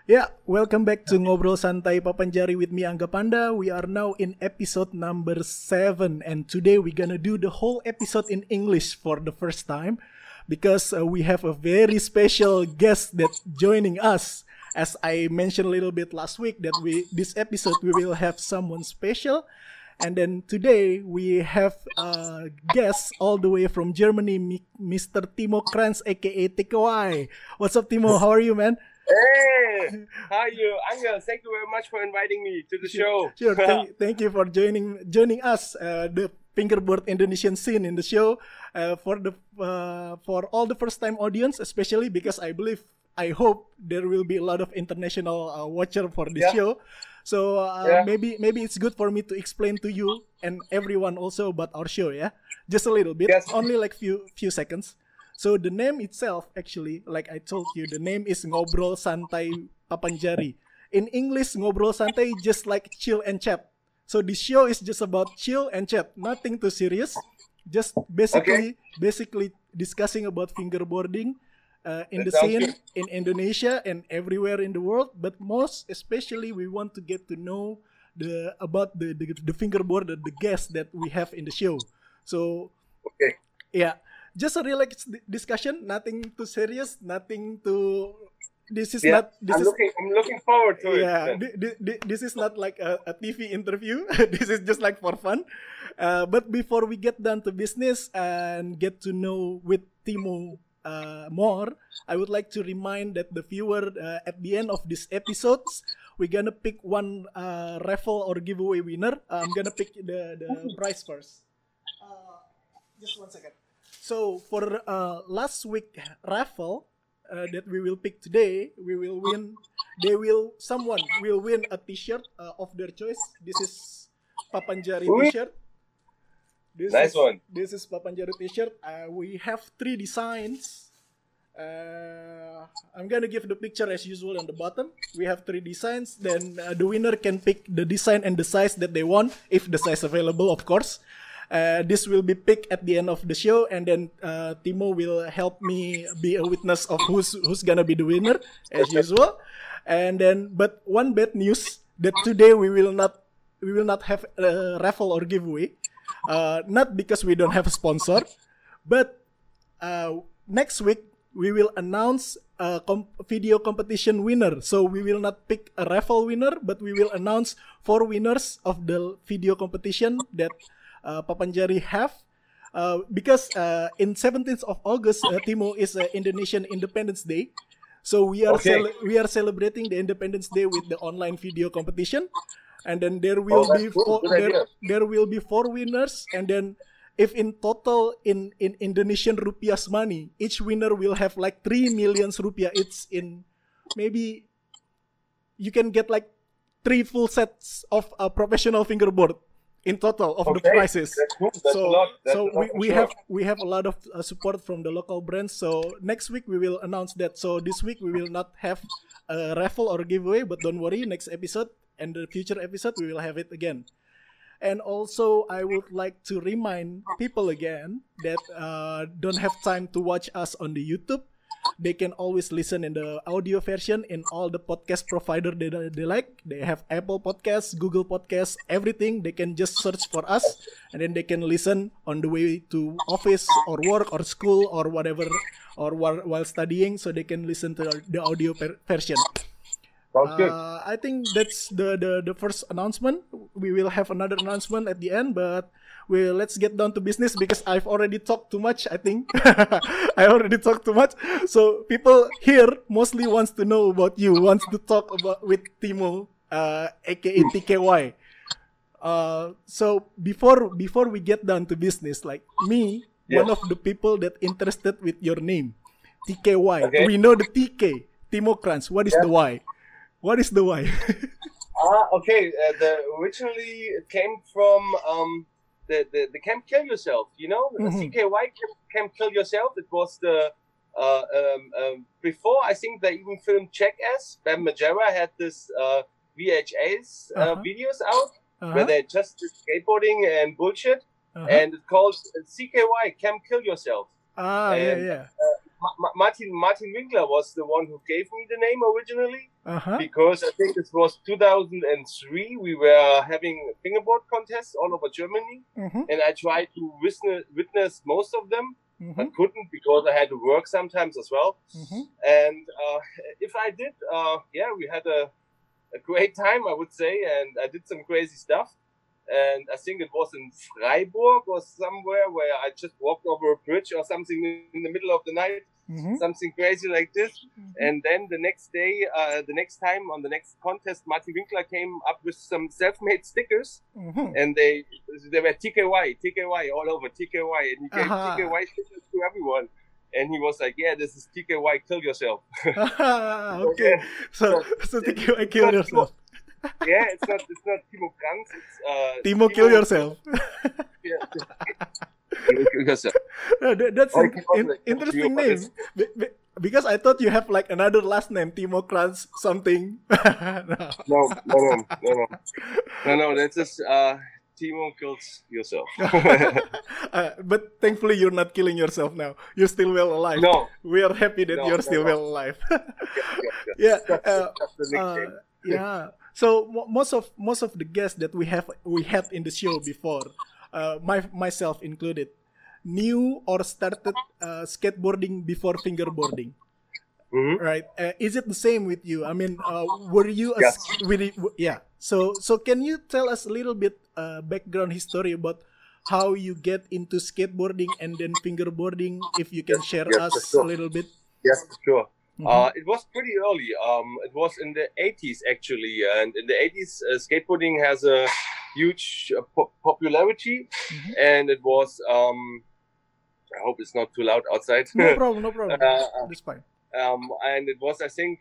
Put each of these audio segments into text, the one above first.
Yeah, welcome back to Ngobrol Santai Papanjari with me, Angga Panda. We are now in episode number 7, and today we're gonna do the whole episode in English for the first time because we have a very special guest that joining us. As I mentioned a little bit last week, that this episode we will have someone special, and then today we have a guest all the way from Germany, Mr. Timo Kranz, aka TKY. What's up, Timo? How are you, man? Hey, how are you, Angel? Thank you very much for inviting me to the show. Sure. Thank you for joining us, the fingerboard Indonesian scene in the show, for all the first time audience, especially because I hope there will be a lot of international watcher for this show. So maybe it's good for me to explain to you and everyone also about our show, yeah, just a little bit, only like few seconds. So the name itself, actually, like I told you, the name is Ngobrol Santai Papanjari. In English, Ngobrol Santai just like chill and chat. So this show is just about chill and chat, nothing too serious. Just basically discussing about fingerboarding in the scene in Indonesia and everywhere in the world. But most especially, we want to get to know about the fingerboarder, the guests that we have in the show. So yeah. Just a relaxed discussion, nothing too serious, nothing too. I'm looking forward to it. Yeah, this is not like a TV interview. This is just like for fun. But before we get down to business and get to know with Timo more, I would like to remind that the viewer at the end of this episodes, we're gonna pick one raffle or giveaway winner. I'm gonna pick the prize first. Just 1 second. So for last week raffle that we will pick today, someone will win a T-shirt of their choice. This is Papanjari T-shirt. This is Papanjari T-shirt. We have 3 designs. I'm gonna give the picture as usual on the bottom. We have 3 designs. Then the winner can pick the design and the size that they want, if the size available, of course. This will be picked at the end of the show, and then Timo will help me be a witness of who's gonna be the winner as usual. And then, but one bad news that today we will not have a raffle or giveaway, not because we don't have a sponsor, but next week we will announce a video competition winner. So we will not pick a raffle winner, but we will announce 4 winners of the video competition that Papanjari have, because in 17th of August, Timo, is Indonesian Independence Day. So we are celebrating the Independence Day with the online video competition, and then there will be 4 winners, and then if in total in Indonesian rupiahs money, each winner will have like 3 million rupiah. It's in maybe you can get like 3 full sets of a professional fingerboard in total of the prizes. We have a lot of support from the local brands. So next week we will announce that. So this week we will not have a raffle or giveaway, but don't worry, next episode and the future episode we will have it again. And also I would like to remind people again that don't have time to watch us on the YouTube. They can always listen in the audio version in all the podcast provider they like. They have Apple Podcasts, Google Podcasts, everything. They can just search for us, and then they can listen on the way to office or work or school or whatever, or while studying. So they can listen to the audio version. I think that's the first announcement. We will have another announcement at the end, but let's get down to business because I've already talked too much, I think. I already talked too much. So people here mostly wants to know about you, wants to talk about with Timo, aka TKY. So before we get down to business, like me, one of the people that interested with your name, TKY. Okay. We know the TK, Timo Kranz. What is the Y? What is the Y? Originally it came from the Camp Kill Yourself, you know? CKY, Camp Kill Yourself. It was the before I think they even filmed Jackass. Ben Majera had this VHS videos out where they just did skateboarding and bullshit, and it's called CKY, Camp Kill Yourself. Martin Winkler was the one who gave me the name originally. because I think it was 2003. We were having fingerboard contests all over Germany, and I tried to witness most of them, but couldn't because I had to work sometimes as well. And if I did, we had a great time, I would say, and I did some crazy stuff. And I think it was in Freiburg or somewhere where I just walked over a bridge or something in the middle of the night, something crazy like this. And then the next day, the next time on the next contest, Martin Winkler came up with some self-made stickers, and they were TKY all over TKY, and he gave TKY stickers to everyone. And he was like, "Yeah, this is TKY, kill yourself." Okay, so TKY, kill yourself. Yeah, it's not Timo Kranz. It's Timo, kill yourself. Yeah. Kill yourself. That's an interesting name. Because I thought you have like another last name, Timo Kranz something. No. That's just Timo kills yourself. But thankfully, you're not killing yourself now. You're still well alive. No, we are happy that you're still well alive. Yeah. That's the nickname. Yeah. So most of the guests that we had in the show before, myself included, knew or started skateboarding before fingerboarding. Right? Is it the same with you? I mean, were you So can you tell us a little bit background history about how you get into skateboarding and then fingerboarding? If you can share us a little bit. Yes, for sure. It was pretty early. It was in the 80s actually, and in the 80s, skateboarding has a huge popularity, and it was. I hope it's not too loud outside. No problem. That's fine. And it was, I think,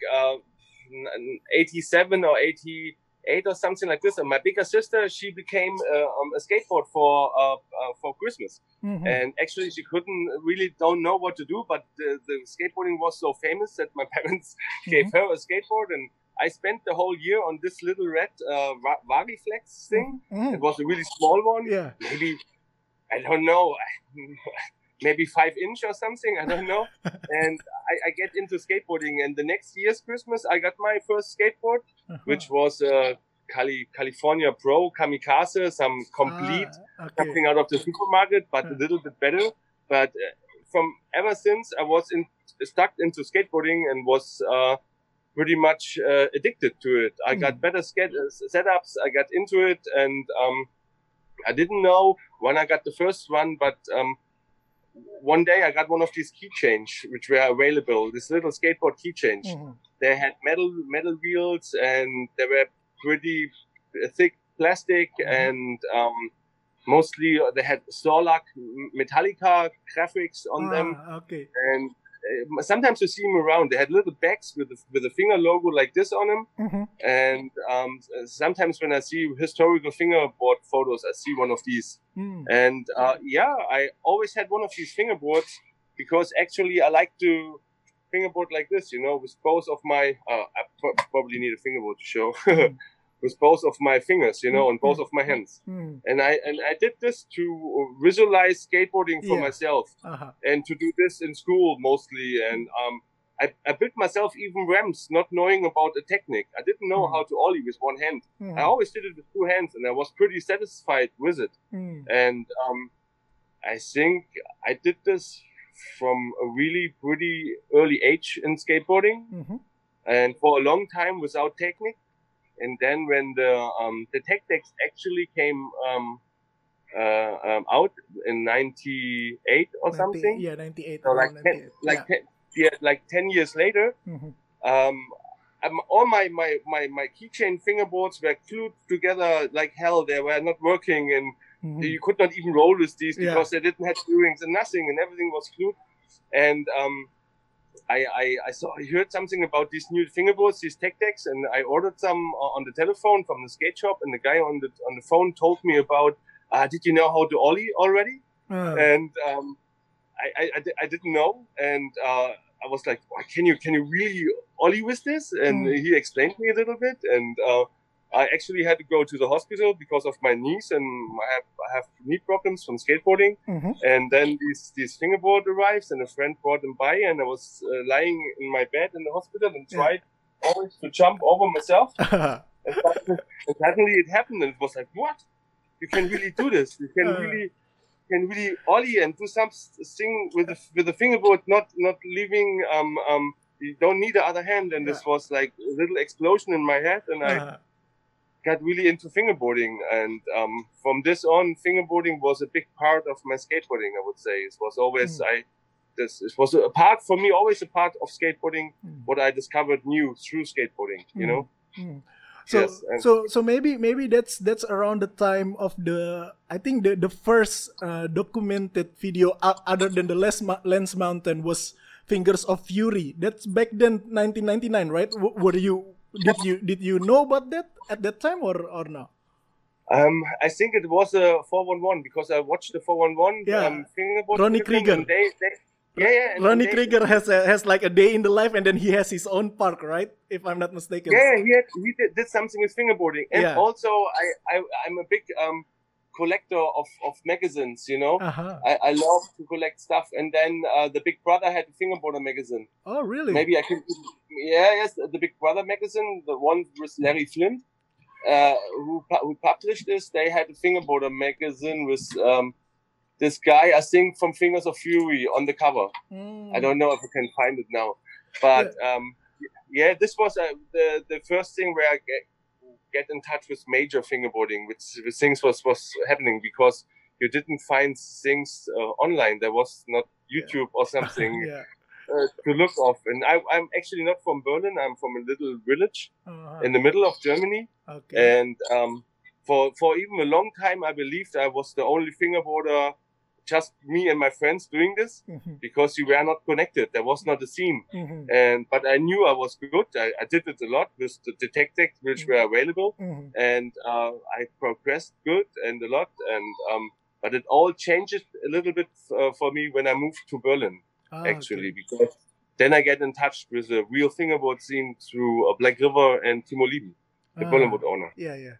87 or 88 or something like this. And my bigger sister, she became a skateboard for Christmas. And actually, she don't know what to do. But the skateboarding was so famous that my parents gave her a skateboard. And I spent the whole year on this little red Variflex thing. It was a really small one. Yeah. Maybe, I don't know. Maybe 5-inch or something, I don't know. And I get into skateboarding, and the next year's Christmas, I got my first skateboard, which was a California Pro Kamikaze, some complete, something out of the supermarket, but a little bit better. But from ever since, I was stuck into skateboarding and was pretty much addicted to it. I got better setups, I got into it, and I didn't know when I got the first one, but one day I got one of these keychains which were available, this little skateboard keychains. They had metal wheels, and they were pretty thick plastic, and mostly they had Storlac Metallica graphics on them. Okay. And sometimes you see them around. They had little bags with a finger logo like this on them. And sometimes when I see historical fingerboard photos, I see one of these. And I always had one of these fingerboards because actually I like to fingerboard like this, with both of my. I probably need a fingerboard to show. With both of my fingers, on both of my hands. And I did this to visualize skateboarding for myself, and to do this in school mostly. And I built myself even ramps, not knowing about a technique. I didn't know how to ollie with one hand. I always did it with two hands, and I was pretty satisfied with it. And I think I did this from a really pretty early age in skateboarding, and for a long time without technique. And then when the tech decks actually came out in 98 or something. Yeah, 98. So like 10 years later, all my keychain fingerboards were glued together like hell. They were not working, and you could not even roll with these because they didn't have earrings and nothing, and everything was glued. And I heard something about these new fingerboards, these tech decks, and I ordered some on the telephone from the skate shop. And the guy on the phone told me about, did you know how to ollie already? And I didn't know, and I was like, can you really ollie with this? And he explained me a little bit, and I actually had to go to the hospital because of my knees, and I have knee problems from skateboarding. And then this fingerboard arrives, and a friend brought them by, and I was lying in my bed in the hospital and tried always to jump over myself. And suddenly it happened, and it was like, what? You can really do this. You can really ollie and do something with the fingerboard, not leaving. You don't need the other hand, and this was like a little explosion in my head, and I got really into fingerboarding. And from this on, fingerboarding was a big part of my skateboarding. I would say it was always it was a part for me, always a part of skateboarding. What I discovered new through skateboarding, you know. So yes, so maybe that's around the time of I think the first documented video other than the Lens Mountain was Fingers of Fury. That's back then 1999, right? Did you know about that at that time or no? I think it was a 411 because I watched the 411 fingerboard. Ronnie Krieger. Ronnie Krieger has like a day in the life, and then he has his own park, right? If I'm not mistaken. Yeah, he did something with fingerboarding, and also I'm a big collector of magazines. You know, I love to collect stuff, and then the Big Brother had a fingerboarder magazine. Oh, really? Maybe I can. Yes, the Big Brother magazine, the one with Larry Flint, who published this. They had a fingerboarder magazine with. This guy, I think, from Fingers of Fury on the cover. I don't know if I can find it now, but this was the first thing where I get in touch with major fingerboarding, which things was happening because you didn't find things online. There was not YouTube or something to look off. And I'm actually not from Berlin. I'm from a little village in the middle of Germany, and for even a long time, I believed I was the only fingerboarder. Just me and my friends doing this because we were not connected. There was not a scene, but I knew I was good. I did it a lot with the tactics which were available, and I progressed good and a lot. And but it all changed a little bit for me when I moved to Berlin, actually, because then I get in touch with the real fingerboard scene through Black River and Timo Lieben, the Berlinwood owner.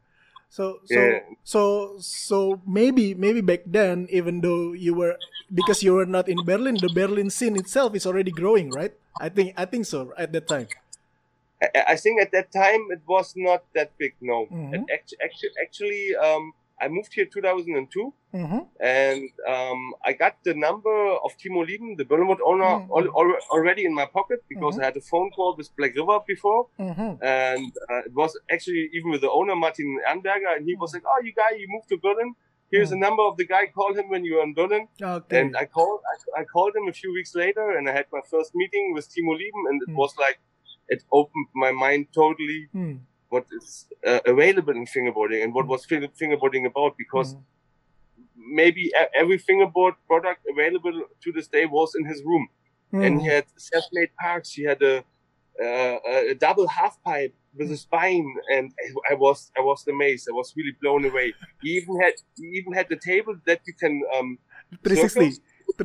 So maybe back then, even though you were not in Berlin, the Berlin scene itself is already growing, right? I think so at that time. I think at that time it was not that big. No, actually, I moved here 2002, and I got the number of Timo Lieben, the Berlinwood owner, already in my pocket because I had a phone call with Black River before, and it was actually even with the owner Martin Ernberger, and he was like, "Oh, you moved to Berlin. Here's the number of the guy. Call him when you're in Berlin." And I called him a few weeks later, and I had my first meeting with Timo Lieben, and it was like it opened my mind totally. What is available in fingerboarding and what was fingerboarding about, because maybe every fingerboard product available to this day was in his room, and he had self-made parks. He had a double half pipe with a spine, and I was amazed. I was really blown away. He even had the table that you can 360.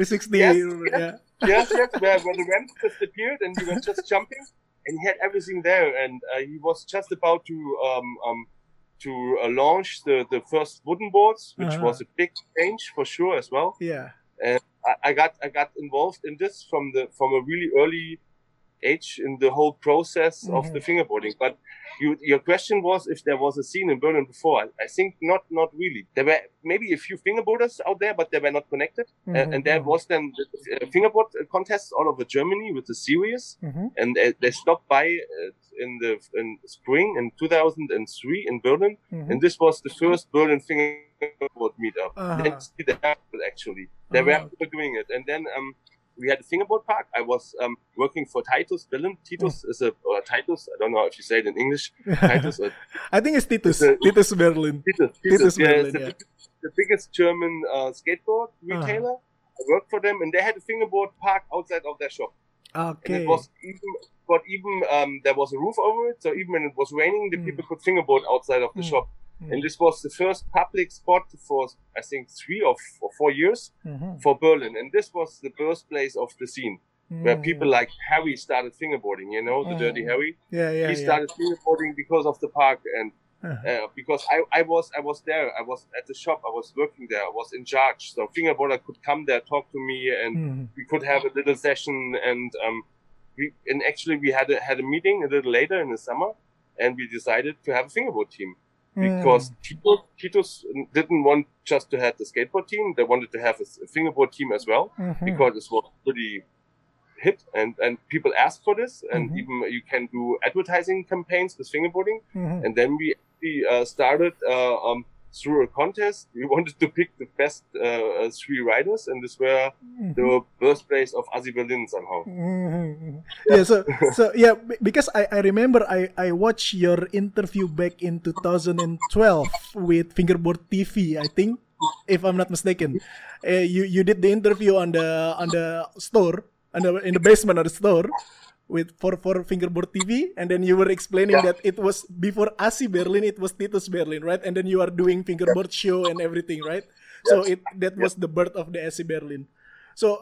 Yes, where the ramp just appeared and you were just jumping. And he had everything there, and he was just about to launch the first wooden boards, which was a big change for sure as well. Yeah, and I got involved in this from a really early age in the whole process of the fingerboarding. But your question was if there was a scene in Berlin before. I think not really. There were maybe a few fingerboarders out there, but they were not connected. And there was then fingerboard contests all over Germany with the series, and they stopped by in spring in 2003 in Berlin, and this was the first Berlin fingerboard meetup. Actually, they were doing it, and then. We had a fingerboard park. I was working for Titus Berlin. Titus is Titus. I don't know if you say it in English. Titus. I think it's Titus. Titus Berlin. Titus Berlin. The biggest German skateboard retailer. I worked for them, and they had a fingerboard park outside of their shop. Okay. And it was even there was a roof over it, so even when it was raining, the people could fingerboard outside of the shop. And this was the first public spot for, I think, 3 or 4 years for Berlin. And this was the birthplace of the scene, where people like Harry started fingerboarding, you know, the Dirty Harry. He started fingerboarding because of the park, and because I was there. I was at the shop. I was working there. I was in charge. So fingerboarder could come there, talk to me, and we could have a little session, and we had a meeting a little later in the summer, and we decided to have a fingerboard team because Titus didn't want just to have the skateboard team; they wanted to have a fingerboard team as well because it was pretty hit and people asked for this, and even you can do advertising campaigns with fingerboarding, and then we started. Through a contest, we wanted to pick the best 3 riders, and this were the birthplace of Asi Berlin somehow. Yeah, so yeah, because I remember I watched your interview back in 2012 with Fingerboard TV, I think, if I'm not mistaken. You did the interview on the store, in the basement of the store, for Fingerboard TV, and then you were explaining that it was before Asi Berlin, it was Titus Berlin, right? And then you are doing fingerboard show and everything, right? So that was the birth of the Asi Berlin. So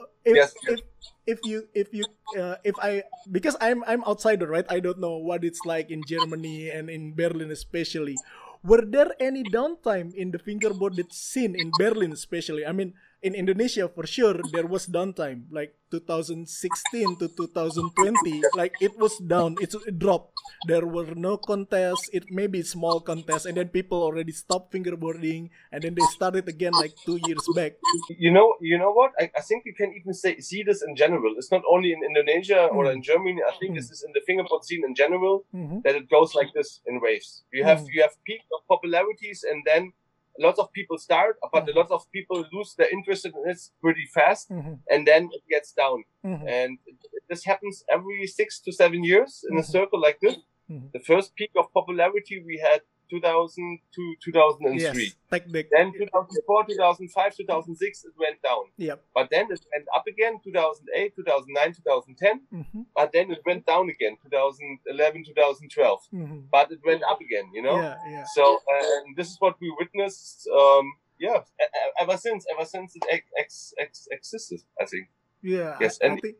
because I'm outsider, right? I don't know what it's like in Germany and in Berlin especially. Were there any downtime in the fingerboarded scene in Berlin especially? I mean, in Indonesia, for sure, there was downtime, like 2016 to 2020, like it was down, it dropped. There were no contests, it may be small contests, and then people already stopped fingerboarding, and then they started again like 2 years back. You know what? I think you can even see this in general. It's not only in Indonesia or in Germany. I think this is in the fingerboard scene in general, that it goes like this in waves. You have peak of popularities, and then lots of people start, but a lot of people lose their interest in it pretty fast, and then it gets down. And this happens every 6 to 7 years in a circle like this. The first peak of popularity we had 2000 to 2003. Yes, then 2004, 2005, 2006, it went down. Yep. But then it went up again, 2008, 2009, 2010. But then it went down again, 2011, 2012. But it went up again, you know? Yeah. So, and this is what we witnessed, ever since it existed, I think. Yeah, yes,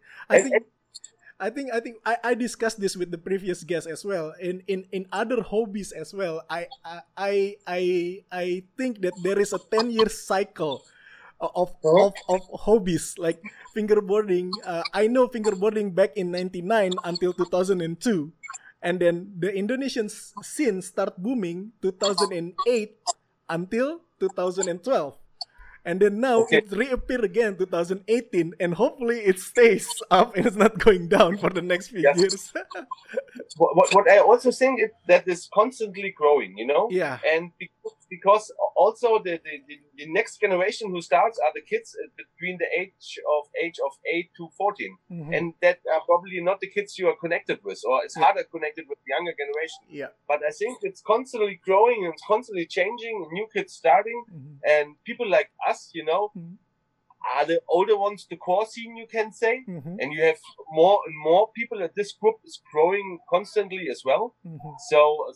I think I discussed this with the previous guest as well. In other hobbies as well, I think that there is a 10-year cycle of hobbies like fingerboarding. I know fingerboarding back in 99 until 2002, and then the Indonesian scene start booming 2008 until 2012. And then now it reappeared again 2018, and hopefully it stays up and it's not going down for the next few years. What I also think is that is constantly growing, you know? Yeah. And because also the next generation who starts are the kids between the age of 8 to 14. And that are probably not the kids you are connected with, or it's harder connected with the younger generation. Yeah. But I think it's constantly growing and it's constantly changing, new kids starting, and people like us, you know, are the older ones, the core scene, you can say, and you have more and more people, and this group is growing constantly as well. So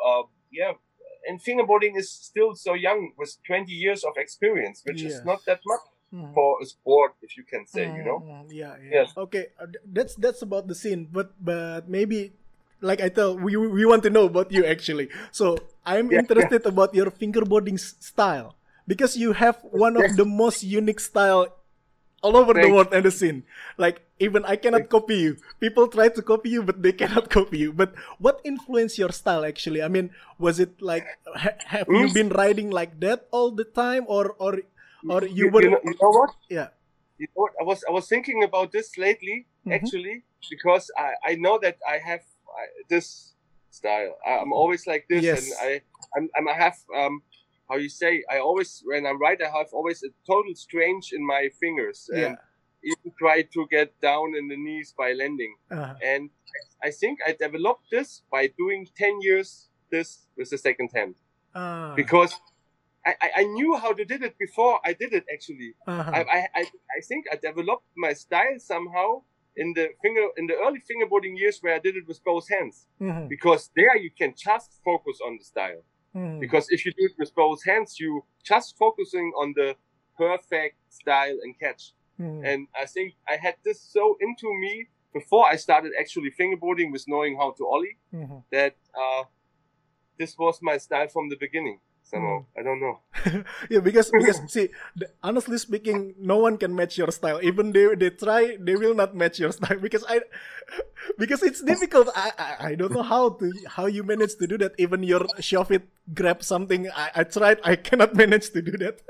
and fingerboarding is still so young with 20 years of experience, which is not that much for a sport, if you can say, you know. Yes. Okay, that's about the scene, but maybe, like I tell, we want to know about you actually. So I'm interested about your fingerboarding style, because you have one of the most unique style all over the world and the scene. Like, even I cannot copy you. People try to copy you, but they cannot copy you. But what influenced your style actually? I mean, was it like, have you been riding like that all the time, or you were? You know what? Yeah. You know what? I was thinking about this lately, actually, because I know that I have this style. I'm always like this, and I have how you say, I always, when I ride, I have always a total strange in my fingers, and even try to get down in the knees by landing. And I think I developed this by doing 10 years this with the second hand, because I knew how to did it before I did it actually. I think I developed my style somehow in the early fingerboarding years, where I did it with both hands, because there you can just focus on the style. Because if you do it with both hands, you just focusing on the perfect style and catch. And I think I had this so into me before I started actually fingerboarding with knowing how to ollie, that this was my style from the beginning. Somehow, I don't know. Yeah, because see, honestly speaking, no one can match your style. Even they try, they will not match your style because it's difficult. I don't know how you manage to do that. Even your shove it, grab something. I tried. I cannot manage to do that.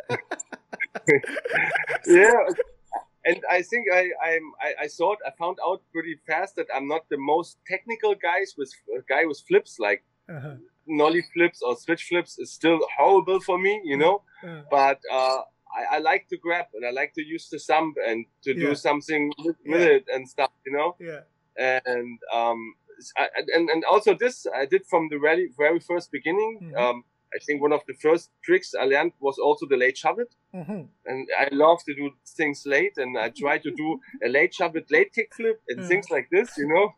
Yeah. And I think I found out pretty fast that I'm not the most technical guy with flips like nollie flips or switch flips is still horrible for me, you know. But I like to grab and I like to use the thumb and to do something with it and stuff, you know. Yeah. And and also this I did from the very first beginning. I think one of the first tricks I learned was also the late shove it. And I love to do things late, and I try to do a late shove it, late kickflip, and things like this, you know.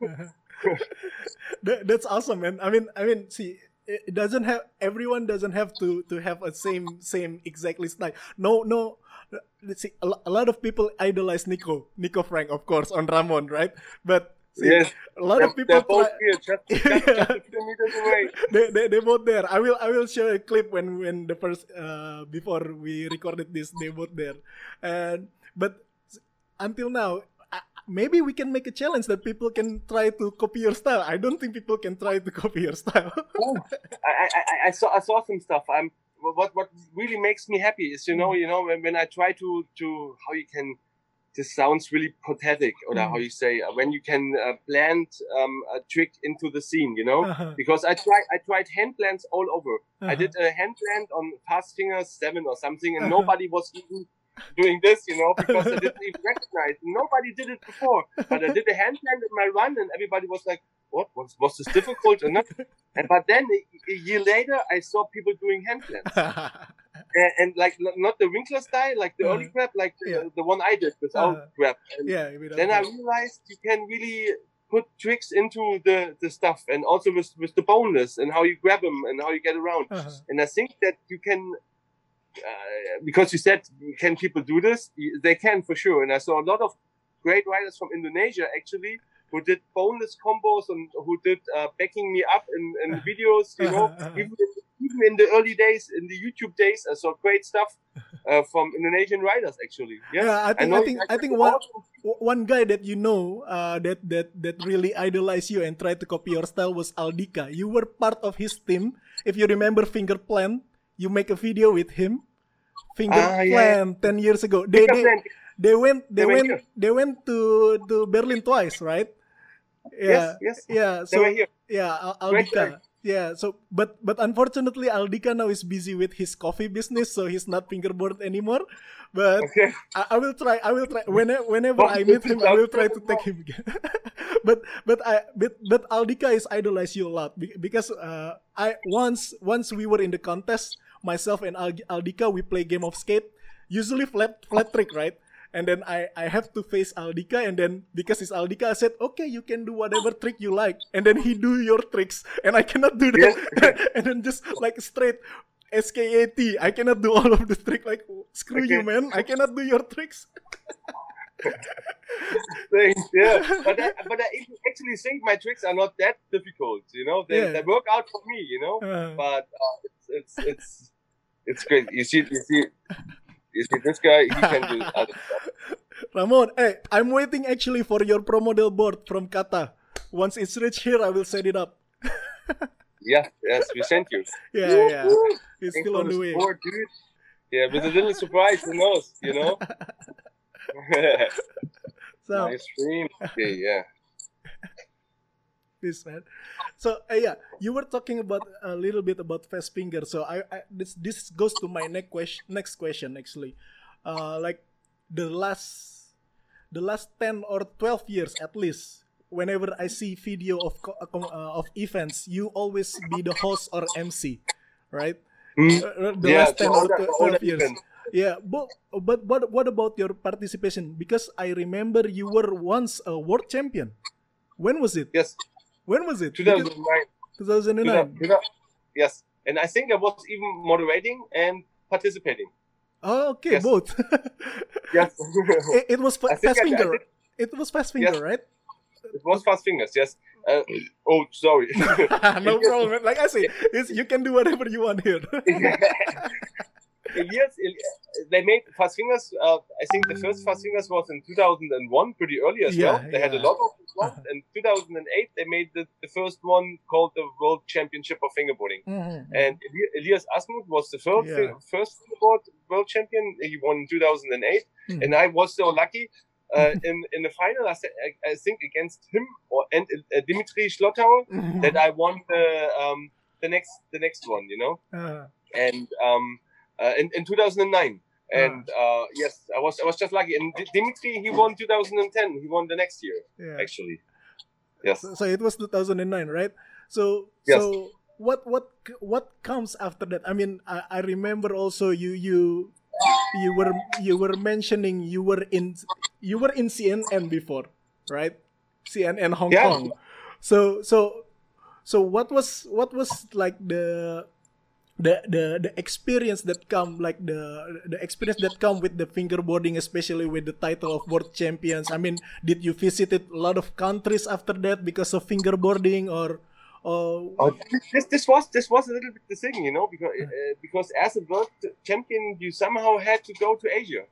That's awesome, man. I mean, see, it doesn't have everyone doesn't have to have a same exactly style. No. Let's see, a lot of people idolize Nico Frank, of course, on Ramon, right? But see, yes, a lot of people both here, just a few meters away. They both there. I will show a clip when the first before we recorded this, they both there. But until now, maybe we can make a challenge that people can try to copy your style. I don't think people can try to copy your style. I saw some stuff. What really makes me happy is you know when I try to how you can. This sounds really pathetic, or how you say when you can blend a trick into the scene, you know. Because I tried hand blends all over. I did a hand blend on Fast Fingers 7 or something, and nobody was even doing this, you know, because I didn't even recognize. Nobody did it before, but I did a hand blend in my run, and everybody was like, "What was this difficult?" But then a year later, I saw people doing hand blends. And like not the Winkler style, like the early grab, like the one I did without grab. And then I realized you can really put tricks into the stuff, and also with the boneless and how you grab them and how you get around. And I think that you can, because you said can people do this? They can for sure. And I saw a lot of great riders from Indonesia actually who did boneless combos and who did backing me up in videos, you know, even in the early days, in the YouTube days, I saw great stuff from Indonesian riders actually. Yeah, I think one guy that you know that really idolized you and tried to copy your style was Aldika. You were part of his team. If you remember Finger Plant, you make a video with him. Finger Plant 10 years ago. They went to Berlin twice, right? Yes. Yeah. So Aldika. Yeah. So, but unfortunately, Aldika now is busy with his coffee business, so he's not fingerboard anymore. But I will try. Whenever I meet him, I will try to take him again. but Aldika is idolize you a lot because once we were in the contest, myself and Aldika, we play game of skate, usually flat trick, right? And then I have to face Aldika, and then because it's Aldika, I said, okay, you can do whatever trick you like. And then he do your tricks, and I cannot do that. Yes. And then just like straight SKAT, I cannot do all of the trick. Like, screw you, man. I cannot do your tricks. Yeah, but I actually think my tricks are not that difficult. You know, they work out for me. You know, but it's great. You see, this guy, he can do other stuff. Ramon, hey, I'm waiting actually for your pro model board from Kata. Once it's reached here, I will set it up. Yes, we sent you. Yeah. It's still on the way. Board, dude. Yeah, with a little surprise, who knows, you know? So, nice stream. Okay, yeah. This man. So you were talking about a little bit about fast finger. So this goes to my next question actually. Like the last 10 or 12 years at least, whenever I see video of events, you always be the host or MC, right? Last 10 or 12 years. Event. Yeah, but what about your participation? Because I remember you were once a world champion. When was it? Yes. When was it? 2009. 2009. Yes, and I think I was even moderating and participating. Oh, okay, yes. Both. Yes. It was fast finger. It was fast finger, right? It was fast fingers. Yes. Oh, sorry. No problem. Like I say, you can do whatever you want here. Elias, they made Fast Fingers. I think the first Fast Fingers was in 2001, pretty early as well. They had a lot of ones. In 2008, they made the first one called the World Championship of Fingerboarding. And Elias Asmuth was the first fingerboard world champion. He won in 2008. And I was so lucky. In the final, I think against him and Dimitri Schlottauer, that I won the next one, you know. And in 2009. And yes, I was just lucky. And Dimitri, he won 2010. He won the next year, actually. Yes. So it was 2009, right? So yes. So what comes after that? I mean, I remember also you were mentioning you were in CNN before, right? CNN Hong Kong. So what was like the experience that come, like the experience that come with the fingerboarding, especially with the title of world champions? I mean, did you visited a lot of countries after that because of fingerboarding, or this was a little bit the thing, you know, because as a world champion, you somehow had to go to Asia.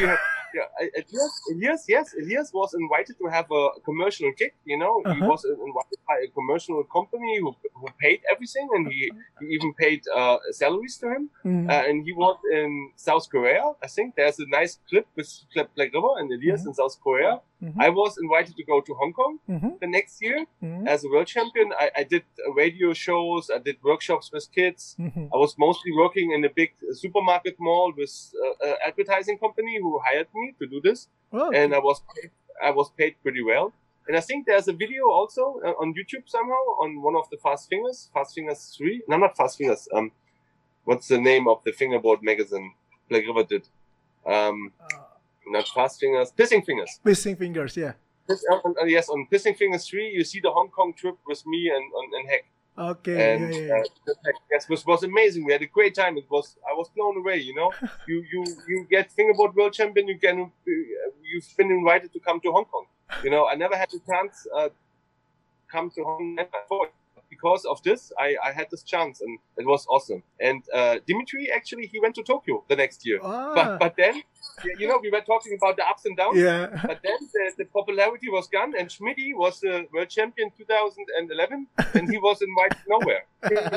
Elias was invited to have a commercial gig, you know. He was invited by a commercial company who paid everything, and he even paid salaries to him. And he was in South Korea. I think there's a nice clip with Black River and Elias in South Korea. I was invited to go to Hong Kong the next year as a world champion. I did radio shows. I did workshops with kids. I was mostly working in a big supermarket mall with an advertising company who hired me to do this. And I was paid pretty well. And I think there's a video also on YouTube somehow on one of the Fast Fingers 3. No, not Fast Fingers. What's the name of the fingerboard magazine Black River did? Not Fast Fingers, Pissing Fingers. Pissing Fingers, yeah. Yes, on Pissing Fingers 3, you see the Hong Kong trip with me and Heck. Okay. And yes, it was amazing. We had a great time. I was blown away. You know, you get fingerboard world champion. You've been invited to come to Hong Kong. You know, I never had the chance come to Hong Kong before. Because of this, I had this chance, and it was awesome. And Dimitri, actually, he went to Tokyo the next year. But then, you know, we were talking about the ups and downs. Yeah. But then the popularity was gone, and Schmidty was the world champion 2011, and he was invited nowhere.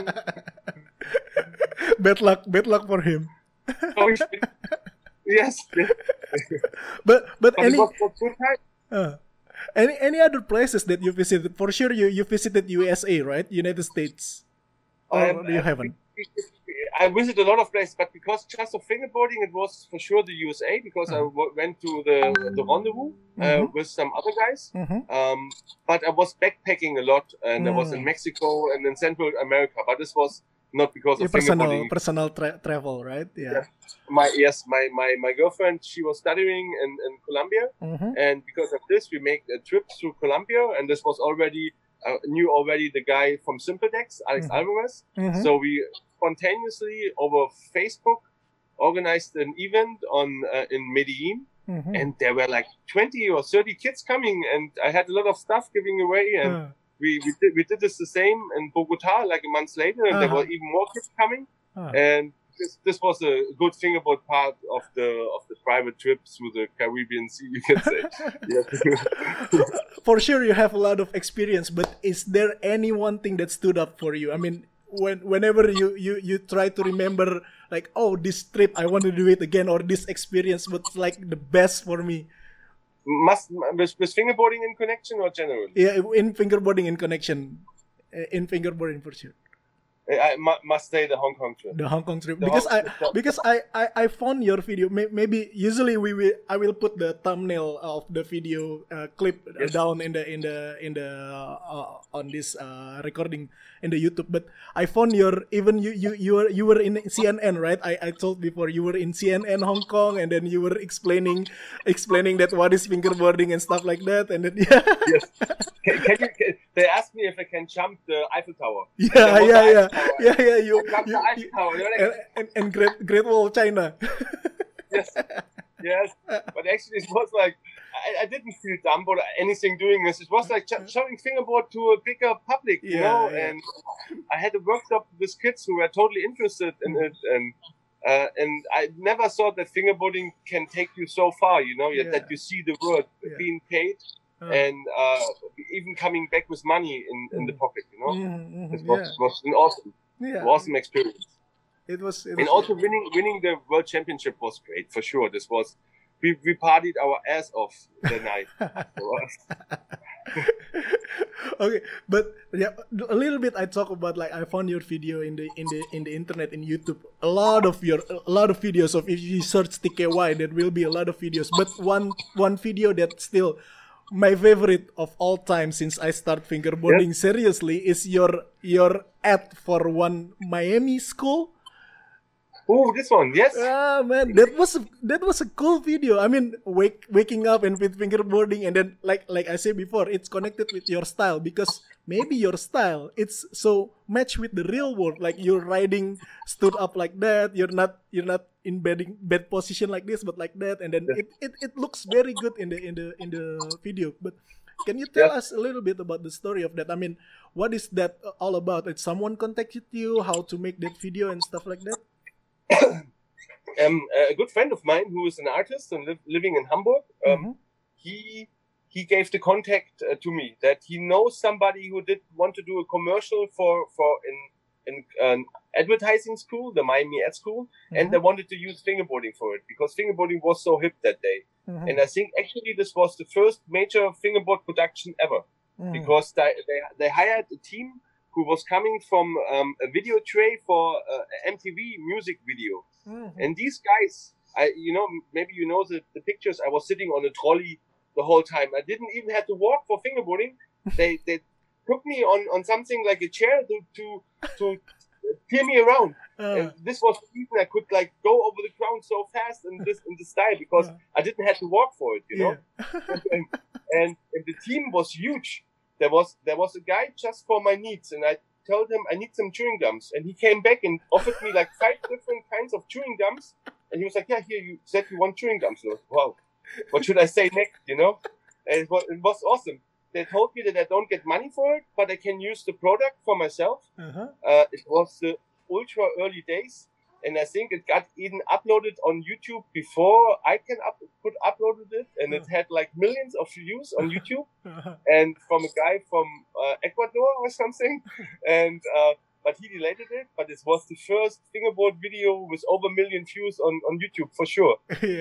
Bad luck for him. Yes. but it was good time. Any other places that you visited? For sure, you visited USA, right? United States. Or you haven't? I visited a lot of places, but because just of fingerboarding, it was for sure the USA, because I went to the rendezvous with some other guys. But I was backpacking a lot, and I was in Mexico and in Central America. But this was not because of fingerboarding. Personal travel, right? Yeah. My girlfriend, she was studying in Colombia, and because of this, we made a trip through Colombia, and this was already knew already the guy from Simpledex, Alex Alvarez. So we spontaneously over Facebook organized an event in Medellin, and there were like 20 or 30 kids coming, and I had a lot of stuff giving away, and we did this the same in Bogota like a month later, and there were even more kids coming, and this was a good fingerboard part of the private trip through the Caribbean Sea, you can say. For sure, you have a lot of experience, but is there any one thing that stood up for you? I mean, whenever you try to remember, like, oh, this trip I want to do it again, or this experience was like the best for me. With fingerboarding in connection or generally? Yeah, in fingerboarding in connection, in fingerboarding for sure. I must say the Hong Kong trip. The Hong Kong trip, because I found your video. Maybe usually I will put the thumbnail of the video clip down in the on this recording in the YouTube. But I found you were in CNN, right? I told before you were in CNN Hong Kong, and then you were explaining that what is fingerboarding and stuff like that, and then Yes. They asked me if I can jump the Eiffel Tower. Yeah. And Great Wall of China. Yes. But actually, it was like I didn't feel dumb or anything doing this. It was like showing fingerboard to a bigger public, you know. And I had a workshop with kids who were totally interested in it, and And I never thought that fingerboarding can take you so far, you know, that you see the world being paid and even coming back with money in the pocket, you know. It was an awesome experience. It was and also winning the world championship was great for sure. This was we partied our ass off the night. Okay, but yeah, a little bit I talk about, like, I found your video in the internet, in YouTube. A lot of videos of, if you search TKY, there will be a lot of videos. But one video that still my favorite of all time since I start fingerboarding seriously is your ad for one Miami school. Oh, this one, yes. Ah, man, that was a cool video. I mean, waking up and with fingerboarding, and then like I said before, it's connected with your style, because maybe your style, it's so matched with the real world. Like, you're riding stood up like that. You're not in bed position like this, but like that, and then it looks very good in the video. But can you tell us a little bit about the story of that? I mean, what is that all about? Did someone contacted you, how to make that video and stuff like that? A good friend of mine who is an artist and living in Hamburg, he gave the contact to me, that he knows somebody who did want to do a commercial for in an advertising school, the Miami Ad School, and they wanted to use fingerboarding for it because fingerboarding was so hip that day. And I think actually this was the first major fingerboard production ever, because they hired a team who was coming from a video tray for MTV music video. And these guys, maybe you know the pictures, I was sitting on a trolley the whole time. I didn't even have to walk for fingerboarding. They took me on something like a chair to tear me around. And this was the reason I could like go over the ground so fast in this style, because I didn't have to walk for it, you know. and the team was huge. There was a guy just for my needs, and I told him I need some chewing gums, and he came back and offered me like 5 different kinds of chewing gums, and he was like, "Yeah, here, you said you want chewing gums." So, wow, what should I say next? You know, and it was awesome. They told me that I don't get money for it, but I can use the product for myself. It was the ultra early days, and I think it got even uploaded on YouTube before I could uploaded it, and it had like millions of views on YouTube, and from a guy from Ecuador or something, and but he deleted it. But it was the first fingerboard video with over 1 million views on YouTube for sure.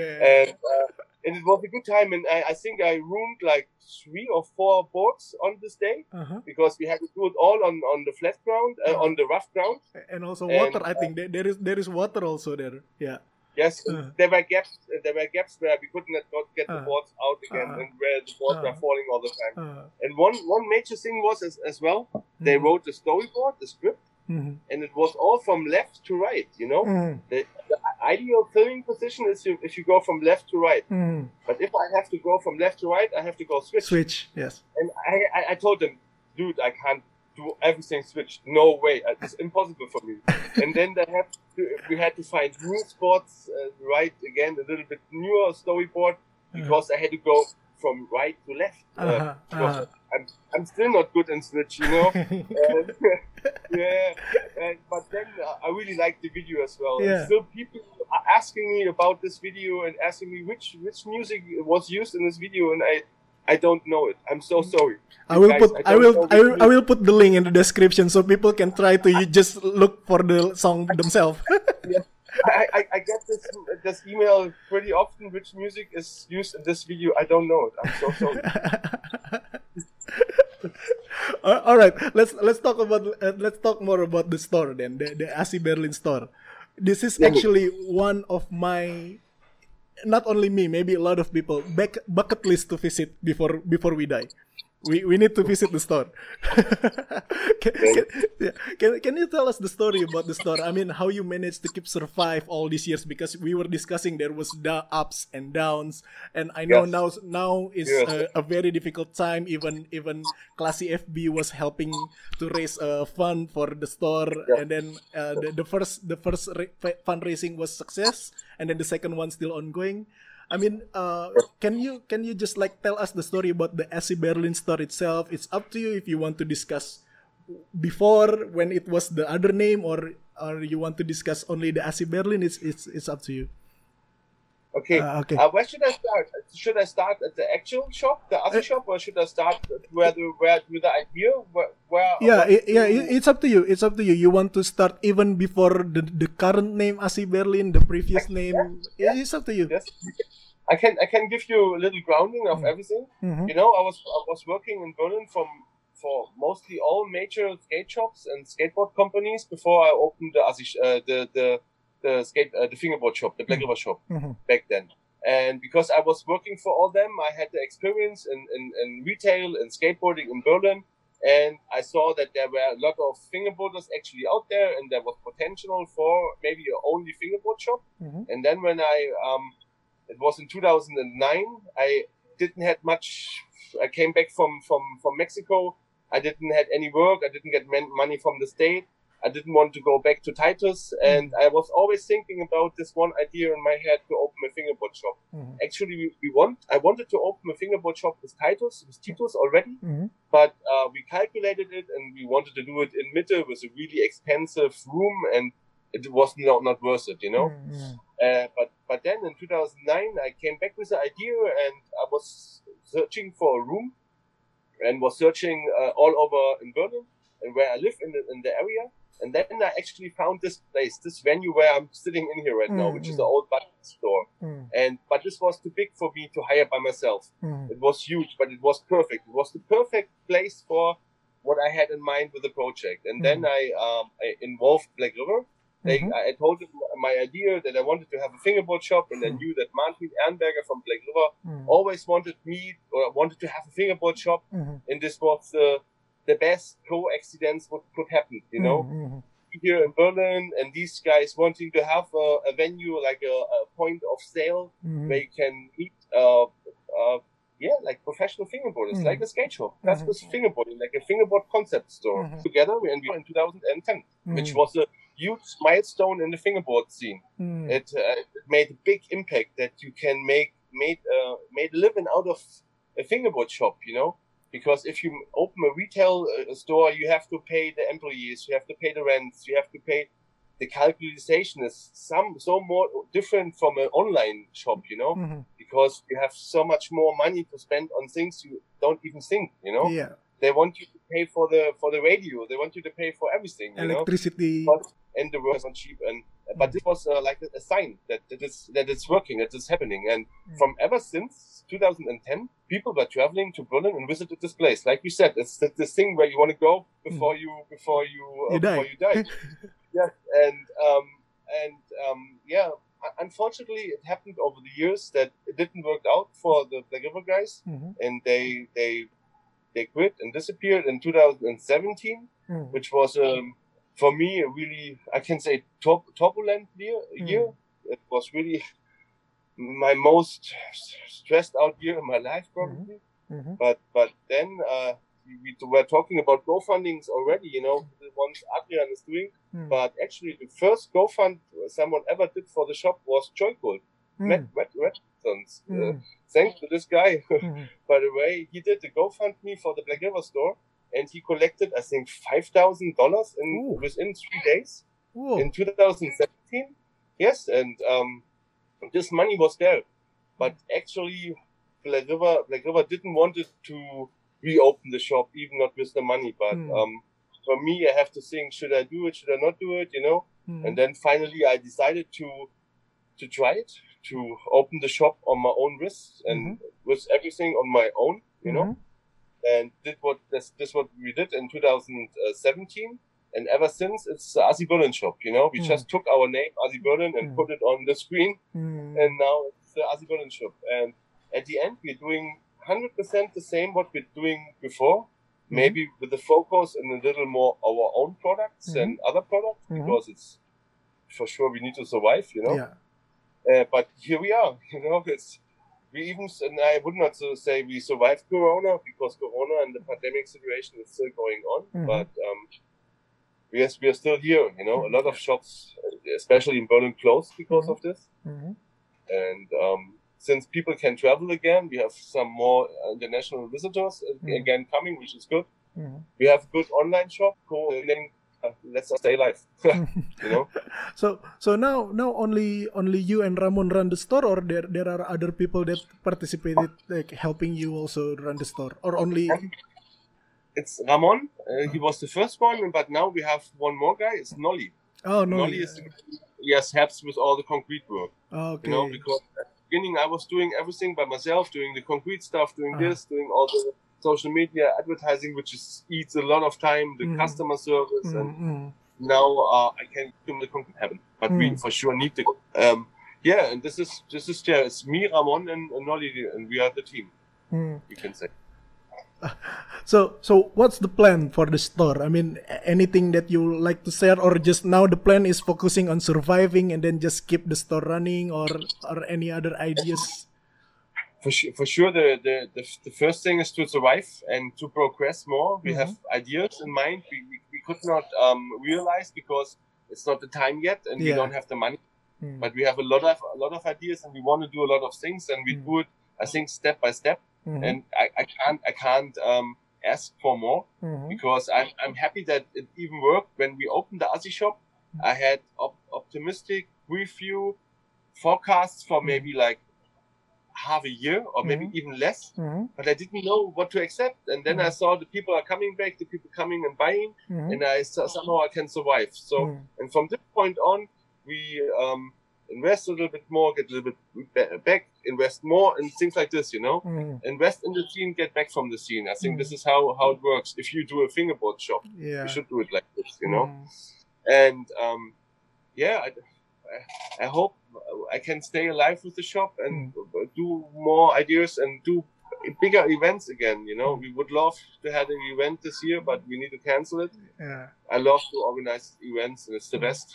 And it was a good time, and I think I ruined like 3 or 4 boards on this day, because we had to do it all on the flat ground, on the rough ground, and also water. I think there is water also there. Yeah. Yes, there were gaps. There were gaps where we could not get the boards out again, and where the boards were falling all the time. And one major thing was as well, they wrote the storyboard, the script, and it was all from left to right. You know, the ideal filming position is if you go from left to right. But if I have to go from left to right, I have to go switch. Yes. And I told them, dude, I can't do everything switch. No way, it's impossible for me. And then we had to find new spots, right again, a little bit newer storyboard, because I had to go from right to left. I'm still not good in switch, you know. But then I really liked the video as well. And still people are asking me about this video and asking me which music was used in this video, and I don't know it. I'm so sorry. I will put the link in the description so people can try to just look for the song themselves. I get this email pretty often. Which music is used in this video? I don't know it. I'm so sorry. All right, let's talk more about the store then, the AC Berlin store. This is actually one of my, not only me, maybe a lot of people, bucket list to visit before we die. We need to visit the store. Can you tell us the story about the store? I mean, how you managed to keep survive all these years? Because we were discussing there was the ups and downs, and I know now is a very difficult time. Even Classy FB was helping to raise a fund for the store, and then the first fundraising was success, and then the second one still ongoing. I mean, can you just like tell us the story about the AC Berlin store itself? It's up to you if you want to discuss before, when it was the other name, or or you want to discuss only the AC Berlin? It's up to you. Okay. Okay. Where should I start? Should I start at the actual shop, the AC shop, or should I start with the idea? It's up to you. It's up to you. You want to start even before the current name AC Berlin, the previous name? Yeah. It's up to you. Yes. I can give you a little grounding of everything. Mm-hmm. You know, I was working in Berlin for mostly all major skate shops and skateboard companies before I opened the fingerboard shop, the Black River shop back then. And because I was working for all them, I had the experience in retail and skateboarding in Berlin. And I saw that there were a lot of fingerboarders actually out there, and there was potential for maybe an only fingerboard shop. Mm-hmm. And then when it was in 2009, I didn't have much. I came back from Mexico. I didn't have any work. I didn't get money from the state. I didn't want to go back to Titus, and I was always thinking about this one idea in my head to open a fingerboard shop. Actually, I wanted to open a fingerboard shop with Titus already, but we calculated it, and we wanted to do it in Mitte with a really expensive room, and it was not worth it, you know. But then in 2009, I came back with the idea, and I was searching for a room, and was searching all over in Berlin and where I live in the area. And then I actually found this place, this venue where I'm sitting in here right now, which is the old Button store. But this was too big for me to hire by myself. It was huge, but it was perfect. It was the perfect place for what I had in mind with the project. And then I involved Black River. I told them my idea that I wanted to have a fingerboard shop, and I knew that Martin Ehrenberger from Black River always wanted to have a fingerboard shop, and this was the best coincidence what could happen, you know, here in Berlin, and these guys wanting to have a venue, like a point of sale where you can meet, like professional fingerboarders, like a skate shop. That was fingerboarding, like a fingerboard concept store. Together, and we were in 2010, which was a huge milestone in the fingerboard scene. It made a big impact that you can made a living out of a fingerboard shop, you know. Because if you open a retail store, you have to pay the employees, you have to pay the rents, you have to pay the calculation is so more different from an online shop, you know, because you have so much more money to spend on things you don't even think, you know. Yeah. They want you to pay for the radio. They want you to pay for everything, you electricity. know. And the work is not cheap. But this was like a sign that it's working, that it's happening. And from ever since 2010, people were traveling to Berlin and visited this place. Like you said, it's this thing where you want to go before you die. Yes, unfortunately, it happened over the years that it didn't work out for the Black River guys, and they quit and disappeared in 2017, which was for me a really, I can say, turbulent year. It was really my most stressed out year in my life, probably. But then we were talking about GoFundings already, you know, the ones Adrian is doing. But actually, the first GoFund someone ever did for the shop was Joygold, Matt Redmond's. Thanks to this guy, by the way, he did the GoFundMe for the Black River store, and he collected, I think, $5,000 within 3 days in 2017. Yes, and this money was there, but actually, Black River didn't want it to reopen the shop, even not with the money. But for me, I have to think: should I do it? Should I not do it? You know. And then finally, I decided to try it, to open the shop on my own risk and with everything on my own, you know. And this what we did in 2017, and ever since it's the AC Berlin shop. You know, we just took our name AC Berlin and put it on the screen, and now it's the AC Berlin shop. And at the end, we're doing 100% the same what we're doing before, maybe with the focus and a little more our own products and other products, because it's for sure we need to survive. You know. Yeah. But here we are. You know, and I would not say we survived Corona, because Corona and the pandemic situation is still going on. But we are still here. You know, a lot of shops, especially in Berlin, closed because of this. And since people can travel again, we have some more international visitors again coming, which is good. We have a good online shop, let's stay alive. You know. So now only you and Ramon run the store, or there are other people that participated, like helping you also run the store, or only? It's Ramon. He was the first one, but now we have one more guy. It's Nolly. Oh, Nolly is helps with all the concrete work. Okay. You know, because at the beginning I was doing everything by myself, doing the concrete stuff, doing this, doing all the social media advertising, which eats a lot of time, the customer service, and now I can do the concrete happen. But we for sure need the and this is it's me, Ramon, and Nolly, and we are the team. You can say. So what's the plan for the store? I mean, anything that you like to share, or just now the plan is focusing on surviving and then just keep the store running, or any other ideas? For sure, the first thing is to survive and to progress more. We have ideas in mind we could not realize because it's not the time yet, and we don't have the money. But we have a lot of ideas, and we want to do a lot of things, and we do it, I think, step by step. And I can't ask for more because I'm happy that it even worked when we opened the Aussie shop. I had optimistic review forecasts for maybe like half a year or maybe even less, but I didn't know what to accept. And then I saw the people are coming back, the people coming and buying, and I saw somehow I can survive. So and from this point on, we invest a little bit more, get a little bit back, invest more, and things like this, you know. Invest in the scene, get back from the scene. I think this is how it works. If you do a fingerboard shop, you should do it like this, you know. And I hope I can stay alive with the shop and do more ideas and do bigger events again, you know. We would love to have an event this year, but we need to cancel it. I love to organize events, and it's the best.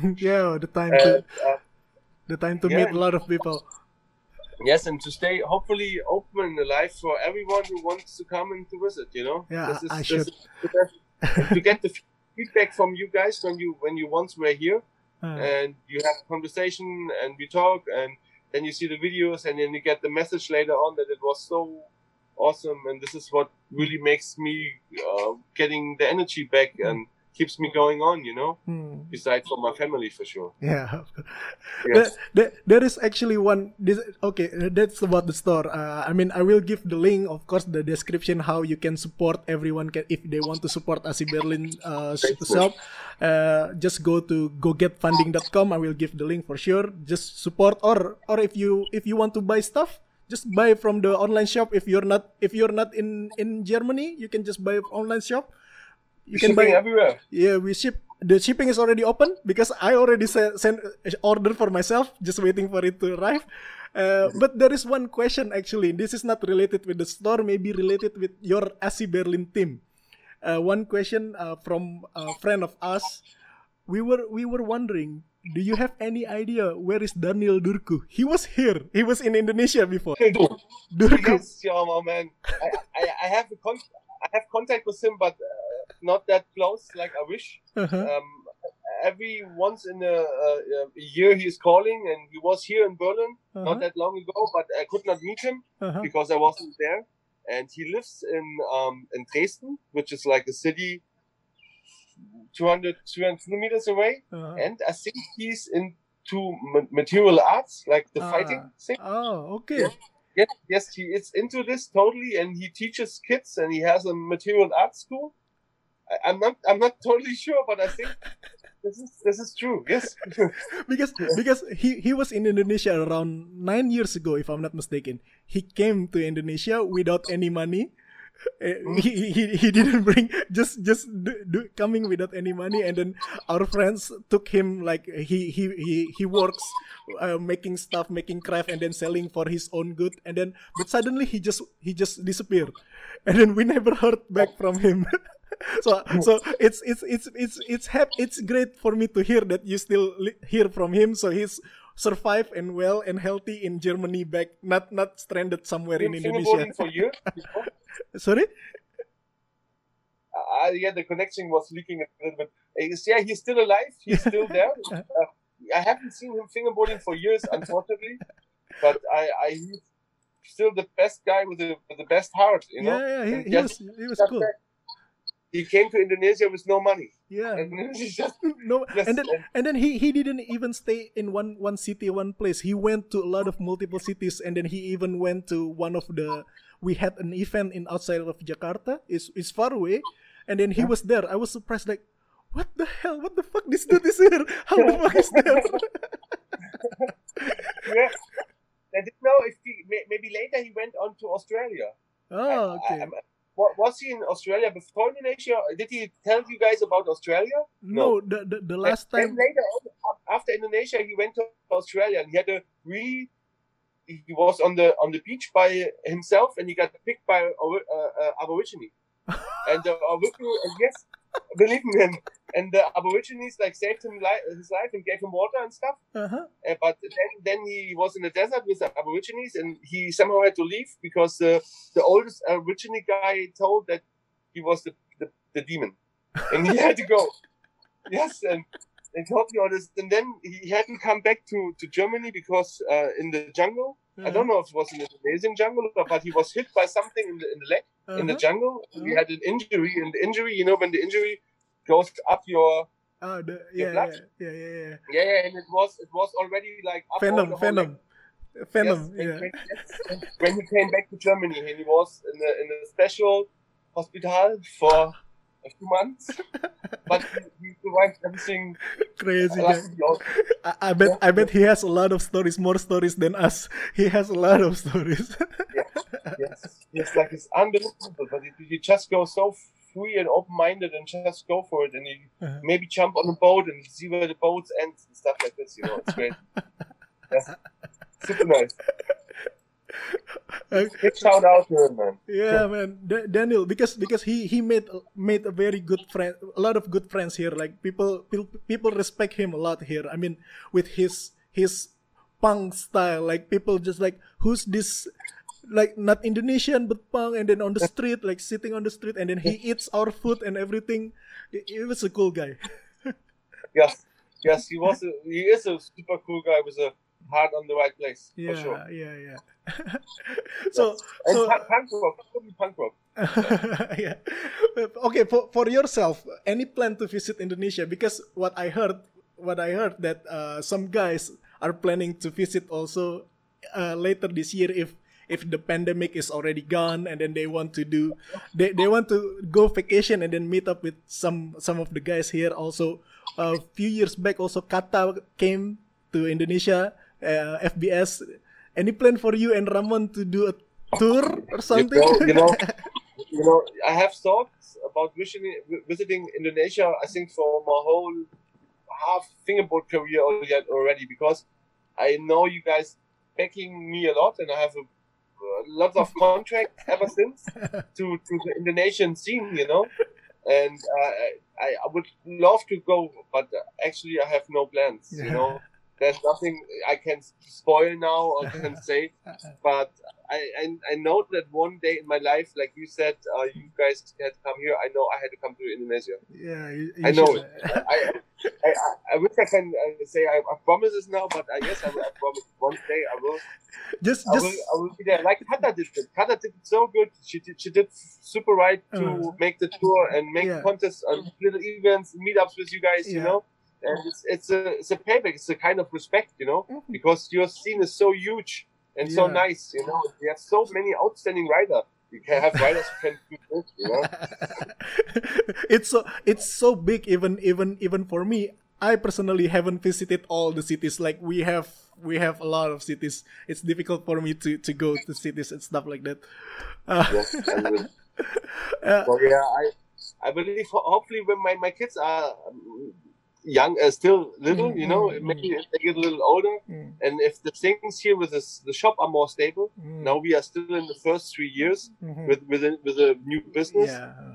The time to meet a lot of people. Yes, and to stay hopefully open and alive for everyone who wants to come and to visit, you know. Yeah, this is the best. To get the feedback from you guys when you once were here, and you have a conversation and we talk, and then you see the videos, and then you get the message later on that it was so awesome, and this is what really makes me getting the energy back and keeps me going on, you know, besides for my family, for sure. Yeah. Yes. There is actually one, that's about the store. I mean, I will give the link, of course, the description, how you can support everyone if they want to support Asi Berlin shop. Just go to gogetfunding.com. I will give the link for sure. Just support, or if you want to buy stuff, just buy from the online shop. If you're not in Germany, you can just buy online shop. You can buy everywhere. Yeah, we ship. The shipping is already open because I already sent order for myself, just waiting for it to arrive. But there is one question actually. This is not related with the store, maybe related with your Asi Berlin team. One question from a friend of us. We were wondering, do you have any idea where is Daniel Durku? He was here. He was in Indonesia before. Durku. Yes, my man. I have contact with him, but not that close like I wish. Every once in a year he is calling, and he was here in Berlin not that long ago, but I could not meet him because I wasn't there. And he lives in Dresden, which is like a city 200 kilometers away. And I think he's into material arts, like the fighting thing. Oh, okay. Yes, he is into this totally, and he teaches kids, and he has a material arts school. I'm not totally sure, but I think this is true. Yes, because he was in Indonesia around 9 years ago, if I'm not mistaken. He came to Indonesia without any money. He didn't bring just coming without any money, and then our friends took him, like he works making stuff, making craft, and then selling for his own good, and then but suddenly he just disappeared, and then we never heard back from him. So it's great for me to hear that you still hear from him. So he's survived and well and healthy in Germany, back not stranded somewhere in Indonesia. For you? Sorry? The connection was leaking a little bit. Yeah, he's still alive. He's still there. I haven't seen him fingerboarding for years, unfortunately. But he's still the best guy with the best heart, you know. Yeah, he was cool. He came to Indonesia with no money. Yeah. And it's just, No, and then he didn't even stay in one city, one place. He went to a lot of multiple cities, and then he even went to one of the. We had an event in outside of Jakarta. It's far away, and then he was there. I was surprised, like, what the hell? What the fuck? This dude is here. How the fuck is there? Yeah. I didn't know if maybe later he went on to Australia. Oh, okay. Was he in Australia before Indonesia? Did he tell you guys about Australia? No, the last time. Then later, after Indonesia, he went to Australia, and he had a really. He was on the beach by himself, and he got picked by Aborigine. And the Aborigine, yes, believe me, and the Aborigines like saved him his life and gave him water and stuff. But then he was in the desert with the Aborigines, and he somehow had to leave because the oldest Aborigine guy told that he was the demon, and he had to go. Yes, and told me all this, and then he hadn't come back to Germany because in the jungle. I don't know if it was in the Indonesian jungle, but he was hit by something in the leg in the jungle. He had an injury, and the injury, when the injury goes up your blood. Yeah, and it was already like up venom. Yes, when he came back to Germany, and he was in a special hospital for a few months, but he survived everything. Crazy guy. I bet he has a lot of stories, more stories than us. He has a lot of stories. Yes, like it's unbelievable. But you just go so free and open-minded and just go for it, and you maybe jump on a boat and see where the boat ends and stuff like this. It's great. Yeah. Super nice. Big shout out to him, man. Yeah, man, Daniel, because he made a very good friend, a lot of good friends here. Like people respect him a lot here. I mean, with his punk style, like people just like, who's this? Like not Indonesian but punk, and then on the street, like sitting on the street, and then he eats our food and everything. He was a cool guy. Yes, he is a super cool guy with a heart on the right place. Yeah, for sure. Yeah. So punk rock. Yeah. Okay, for yourself, any plan to visit Indonesia? Because what I heard that some guys are planning to visit also later this year if the pandemic is already gone, and then they want to go vacation and then meet up with some of the guys here also. A few years back also Kata came to Indonesia, FBS. Any plan for you and Ramon to do a tour or something? I have thoughts about visiting Indonesia. I think for my whole half fingerboard career already, because I know you guys backing me a lot, and I have a lot of contracts ever since to the Indonesian scene, and I would love to go, but actually I have no plans, There's nothing I can spoil now or can say, but I know that one day in my life, like you said, you guys had to come here. I know I had to come to Indonesia. Yeah, I know it. I wish I can say I promise this now, but I guess I promise one day I will. I will be there. Like Kata did it. Kata did it so good. She did super right to make the tour and make contests and little events, meetups with you guys. And it's a payback. It's a kind of respect, because your scene is so huge and so nice. We have so many outstanding riders. You can have riders who can do this. It's so big. Even for me, I personally haven't visited all the cities. Like we have a lot of cities. It's difficult for me to go to cities and stuff like that. Yes, I believe hopefully when my kids are young, still little, maybe if they get a little older, and if the things here with the shop are more stable. Now we are still in the first 3 years with a new business,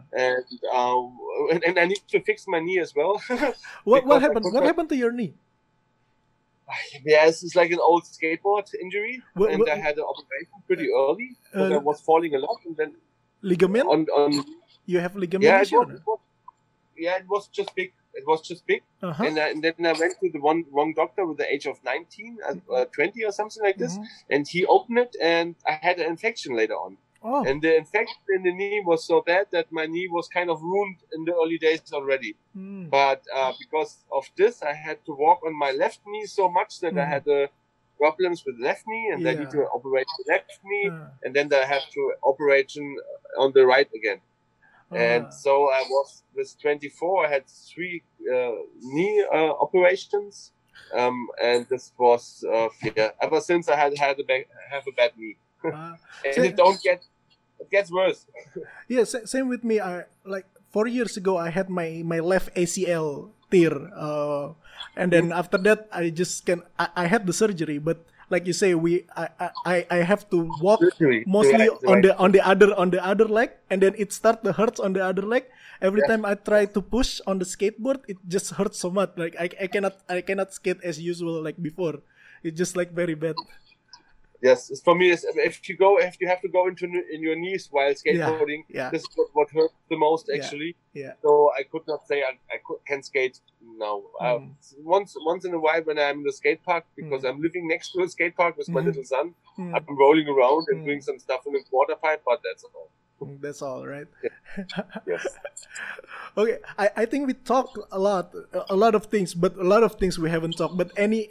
and I need to fix my knee as well. What happened? What happened to your knee? Yeah, it's like an old skateboard injury, and I had an operation pretty early because I was falling a lot, and then ligament. You have ligament issue? It was just big. It was just big, and then I went to the wrong doctor with the age of 19, 20 or something like this, and he opened it, and I had an infection later on. Oh. And the infection in the knee was so bad that my knee was kind of ruined in the early days already. But because of this, I had to walk on my left knee so much that I had problems with left knee, and I need to operate the left knee, and then I have to operation on the right again. And so I was with 24. I had 3 knee operations, and this was ever since I have a bad knee, and it gets worse. Yeah, same with me. I like 4 years ago I had my left ACL tear, and then after that I had the surgery, but like you say, I have to walk mostly on the other leg, and then it start to hurt on the other leg. Every time I try to push on the skateboard, it just hurts so much. Like I cannot skate as usual like before. It's just like very bad. Yes, for me, if you have to go in your knees while skateboarding, this is what hurts the most actually. Yeah. So I could not say I can skate now. Once in a while when I'm in the skate park, because I'm living next to a skate park with my little son, I'm rolling around and doing some stuff in the quarter pipe, but that's all. That's all, right? Yes. Okay, I think we talked a lot of things, but a lot of things we haven't talked. But any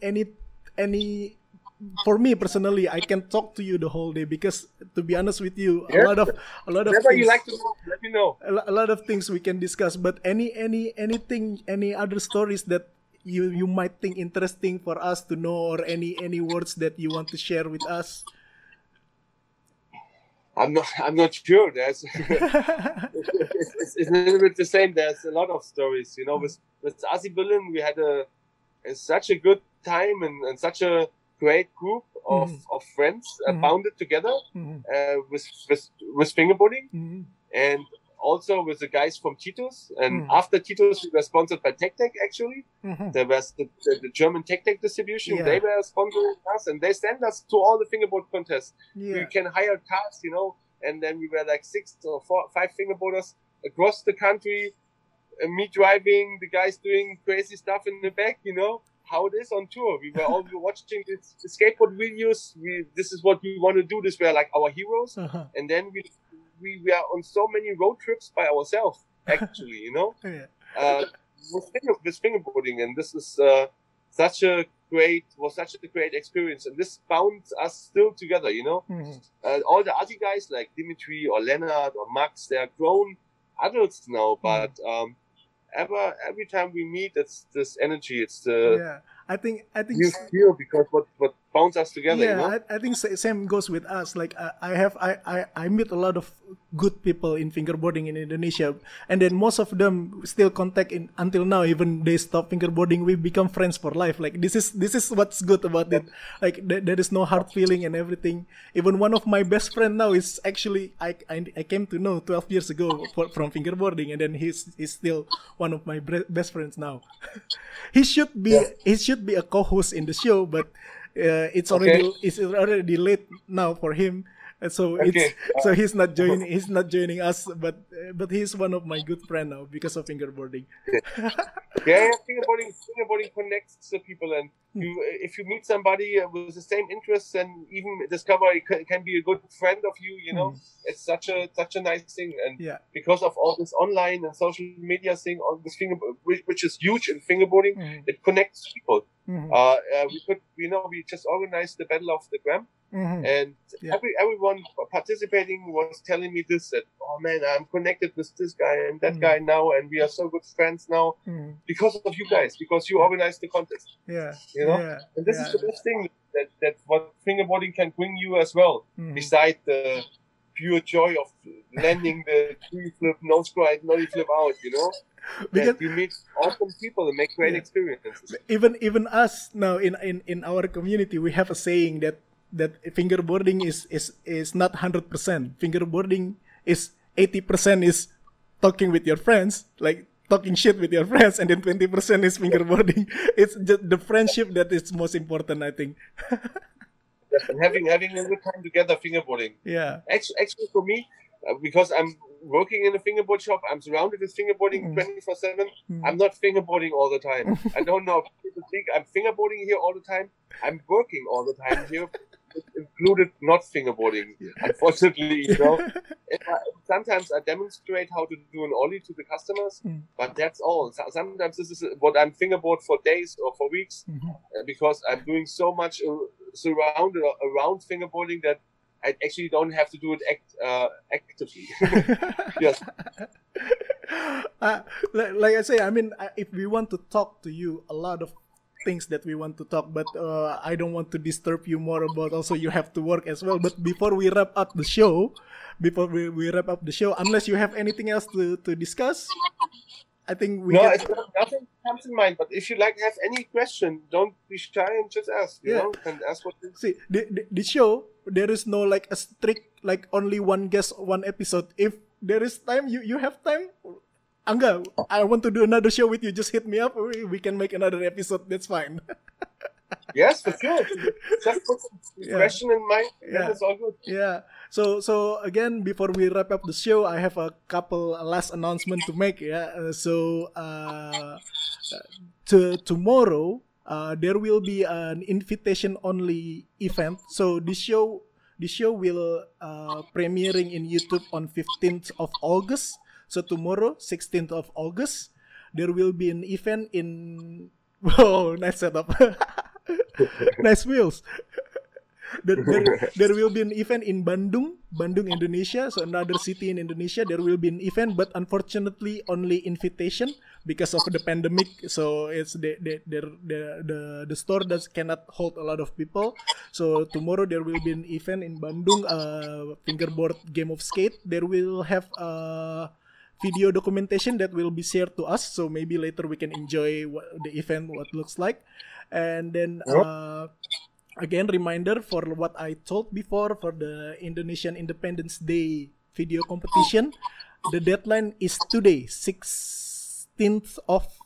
for me personally, I can talk to you the whole day, because to be honest with you, a lot of whatever things, you like to know, let me know. A lot of things we can discuss. But any other stories that you might think interesting for us to know, or any words that you want to share with us? I'm not sure. There's it's a little bit the same. There's a lot of stories, with Asi Billen, we had such a good time and such a great group of friends bounded together with fingerboarding, and also with the guys from Titus. And after Titus, we were sponsored by TechTech actually. There was the German TechTech distribution. They were sponsoring us, and they sent us to all the fingerboard contests. We can hire cars, and then we were like 6 or 5 fingerboarders across the country, me driving, the guys doing crazy stuff in the back, how it is on tour. We were all watching the skateboard videos. This is what we want to do. This were like our heroes. And then we were on so many road trips by ourselves, actually, with fingerboarding. And this is such a great experience. And this bounds us still together, all the other guys like Dimitri or Leonard or Max, they are grown adults now, but every time we meet, it's this energy. It's the I think you feel, because what bounds us together. I think same goes with us. Like I meet a lot of good people in fingerboarding in Indonesia, and then most of them still contact until now. Even they stop fingerboarding, we become friends for life. Like this is what's good about it. Like there is no hard feeling and everything. Even one of my best friend now is actually I came to know 12 years ago from fingerboarding, and then he's still one of my best friends now. He should be a co-host in the show, but it's already late now for him. So so he's not joining us, but he's one of my good friend now because of fingerboarding. Fingerboarding connects the people, and if you meet somebody with the same interests, and even discover it can be a good friend of you, it's such a nice thing. And because of all this online and social media thing, all this which is huge in fingerboarding, it connects people. We just organized the Battle of the Gram. And everyone participating was telling me this, that, oh man, I'm connected with this guy and that guy now, and we are so good friends now because of you guys, because you organized the contest. And this is the best thing that what fingerboarding can bring you as well, beside the pure joy of landing the tree flip, nose glide, nollie flip out, Because you meet awesome people and make great experiences. Even us now in our community, we have a saying that fingerboarding is not 100%. Fingerboarding is 80% is talking with your friends, like talking shit with your friends, and then 20% is fingerboarding. It's just the friendship that is most important, I think. And having a good time together, fingerboarding. Actually for me, because I'm working in a fingerboard shop, I'm surrounded with fingerboarding 24/7. I'm not fingerboarding all the time. I don't know if people think I'm fingerboarding here all the time. I'm working all the time here included not fingerboarding, unfortunately, sometimes I demonstrate how to do an ollie to the customers, but that's all. Sometimes this is what I'm fingerboard for days or for weeks, because I'm doing so much around fingerboarding that I actually don't have to do it actively. Yes. Like I say, I mean, if we want to talk to you, a lot of things that we want to talk, but I don't want to disturb you more about also you have to work as well. But before we wrap up the show, unless you have anything else to discuss, I think we nothing comes in mind. But if you have any question, don't be shy and just ask. You know, and ask what you see. The show, there is no like a strict only one guest, one episode. If there is time, you have time. Angga, I want to do another show with you. Just hit me up. We can make another episode. That's fine. Yes, for sure. Just put some question in mind. Yeah, it's all good. Yeah. So again, before we wrap up the show, I have a couple last announcement to make. Yeah. Tomorrow, there will be an invitation-only event. So the show will premiering in YouTube on 15th of August. So tomorrow, 16th of August, there will be an event in... Whoa, nice setup. Nice wheels. There will be an event in Bandung, Indonesia. So another city in Indonesia. There will be an event, but unfortunately only invitation because of the pandemic. So it's the store cannot hold a lot of people. So tomorrow there will be an event in Bandung, fingerboard game of skate. There will have video documentation that will be shared to us. So maybe later we can enjoy the event, what it looks like. And then again, reminder for what I told before for the Indonesian Independence Day video competition. The deadline is today, 16th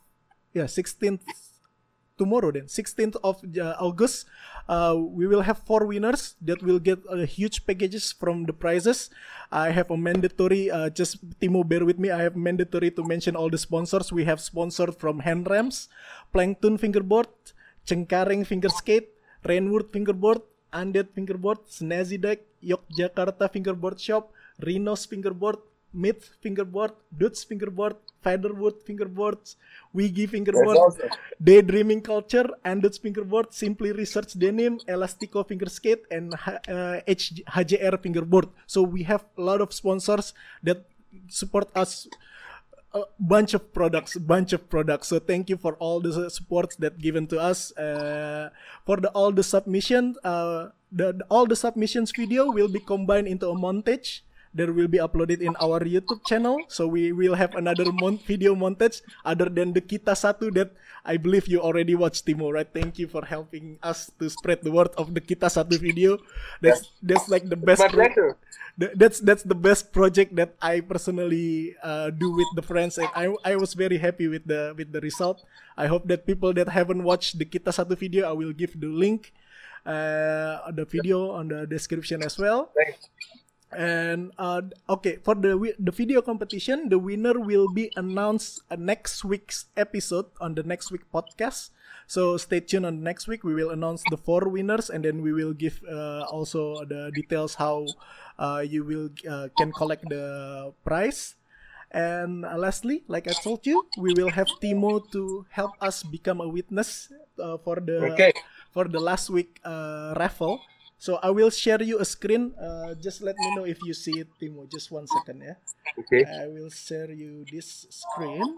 tomorrow then, 16th of August. We will have 4 winners that will get huge packages from the prizes. I have a mandatory, just Timo, bear with me. I have mandatory to mention all the sponsors. We have sponsored from Handrams, Plankton Fingerboard, Cengkareng Finger Skate, Rainwood Fingerboard, Undead Fingerboard, Snazzy Deck, Yogyakarta Fingerboard Shop, Rhinos Fingerboard, Myth Fingerboard, Dutch Fingerboard, Featherwood Fingerboards, Wiggy Fingerboard, awesome. Daydreaming Culture, Dutch Fingerboard, Simply Research Denim, Elastico Finger Skate, and HJR Fingerboard. So we have a lot of sponsors that support us. A bunch of products. So thank you for all the supports that given to us. For all the submission, all the submissions video will be combined into a montage that will be uploaded in our YouTube channel. So we will have another video montage other than the Kita Satu that I believe you already watched, Timo, right? Thank you for helping us to spread the word of the Kita Satu video. That's like the best. My pleasure. That's the best project that I personally do with the friends, and I was very happy with the result. I hope that people that haven't watched the Kita Satu video, I will give the link, the video on the description as well. Thanks. And okay, for the video competition, the winner will be announced next week's episode on the next week podcast. So stay tuned on next week. We will announce the 4 winners, and then we will give also the details how you will can collect the prize. And lastly, like I told you, we will have Timo to help us become a witness for the last week raffle. So I will share you a screen. Just let me know if you see it, Timo. Just 1 second, yeah. Okay. I will share you this screen.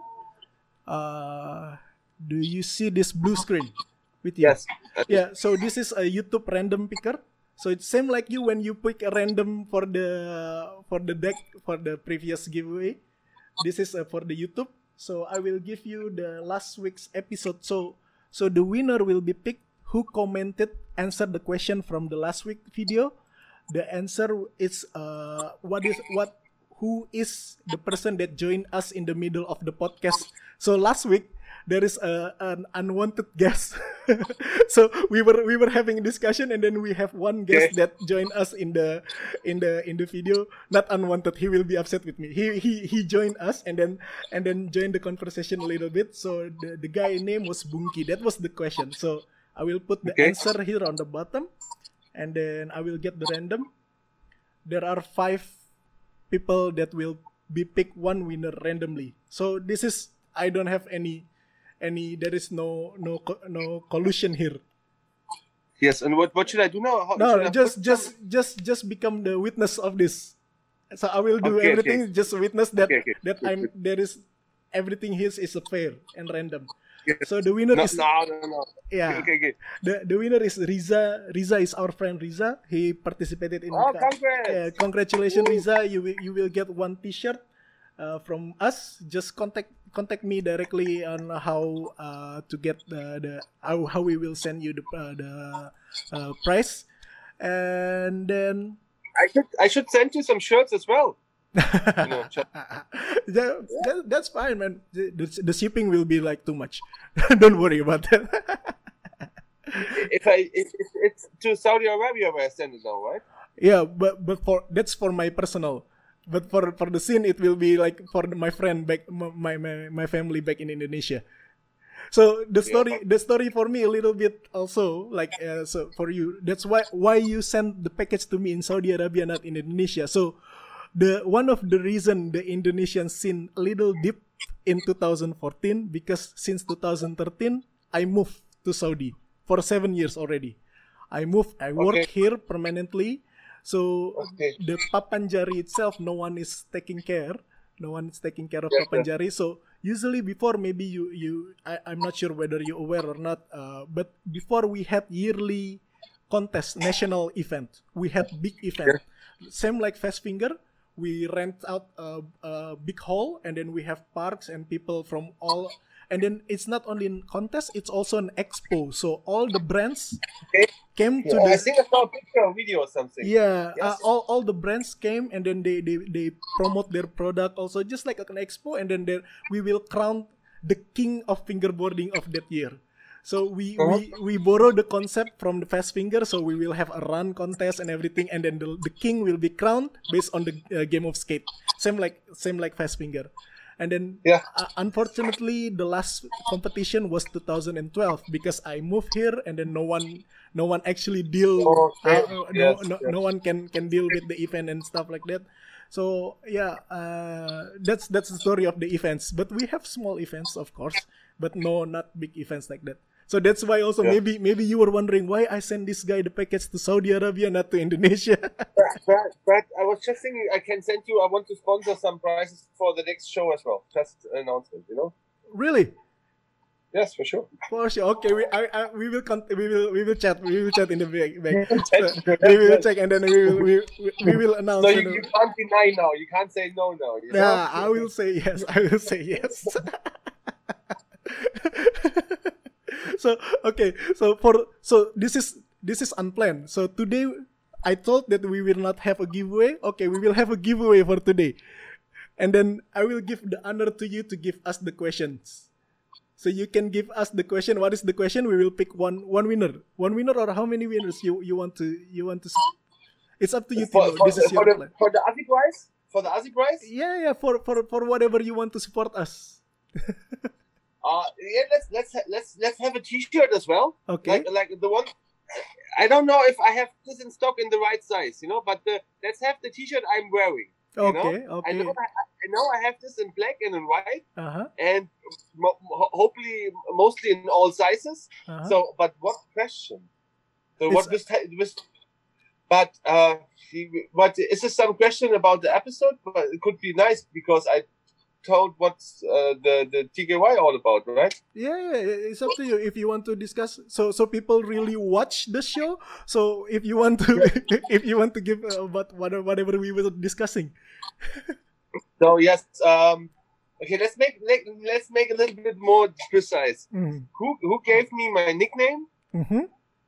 Do you see this blue screen with you? Yes. Yeah. So this is a YouTube random picker. So it's same like you when you pick a random for the deck for the previous giveaway. This is for the YouTube. So I will give you the last week's episode. So the winner will be picked who answered the question from the last week video. The answer is who is the person that joined us in the middle of the podcast. So last week there is an unwanted guest. So we were having a discussion, and then we have one guest that joined us in the video. Not unwanted. He will be upset with me. He joined us and then joined the conversation a little bit. So the guy name was Bunky. That was the question. So I will put the answer here on the bottom. and then I will get the random. There are 5 people that will be pick one winner randomly. So this is, I don't have any. There is no collusion here. Yes, and what should I do now? Just become the witness of this. So I will do everything. Okay. Just witness that there is everything here is fair and random. Yes. So the winner is no. Yeah. Okay. The winner is Riza. Riza is our friend Riza. He participated in. Oh, congrats! Congratulations, Riza. You will get one T-shirt from us. Just contact me directly on how to get how we will send you the price, and then I should send you some shirts as well. That's fine, man. The shipping will be like too much. Don't worry about that. if it's to Saudi Arabia where I send it now, right? Yeah, but that's for my personal. But for the scene, it will be like for my friend back, my family back in Indonesia. So the story for me a little bit also like so for you. That's why you sent the package to me in Saudi Arabia, not in Indonesia. So one of the reason the Indonesian scene a little deep in 2014 because since 2013 I moved to Saudi for 7 years already. I work here permanently. So the Papanjari itself, no one is taking care. No one is taking care of Papanjari. So usually before, maybe I'm not sure whether you're aware or not. But before we had yearly contest, national event. We had big event. Same like Fast Finger. We rent out a big hall, and then we have parks and people from all. And then it's not only in contest; it's also an expo. So all the brands came to the. I think I saw a picture or video or something. Yeah, yes. All the brands came, and then they promote their product also, just like an expo. And then we will crown the king of fingerboarding of that year. So we borrow the concept from the Fast Finger. So we will have a run contest and everything, and then the king will be crowned based on the game of skate. Same like Fast Finger. And then, unfortunately, the last competition was 2012 because I moved here, and then no one actually deal. No one can deal with the event and stuff like that. So that's the story of the events. But we have small events, of course, but not big events like that. So that's why also maybe you were wondering why I sent this guy the package to Saudi Arabia, not to Indonesia. but I was just thinking I can send you. I want to sponsor some prizes for the next show as well. Just an announcement, Really? Yes, for sure. For sure. Okay, we will chat. We will chat in the back. So we will check, and then we will announce. So you can't deny now. You can't say no now. Yeah, I will say yes. So this is unplanned. So today I thought that we will not have a giveaway. Okay, we will have a giveaway for today, and then I will give the honor to you to give us the questions. So you can give us the question. What is the question? We will pick one winner, or how many winners you want to. It's up to you. This is your plan. For the Aussie prize. For the Aussie prize. Yeah. For whatever you want to support us. Let's have a T-shirt as well. Okay. Like the one. I don't know if I have this in stock in the right size, but let's have the T-shirt I'm wearing. Okay. I know I have this in black and in white, and hopefully mostly in all sizes. So, but what question? So what but is this some question about the episode? But it could be nice because I told what's the TKY all about, right? Yeah, it's up to you if you want to discuss. So people really watch the show. So if you want to give about whatever we were discussing. So yes, okay. Let's make a little bit more precise. Mm. Who gave me my nickname? Mm-hmm.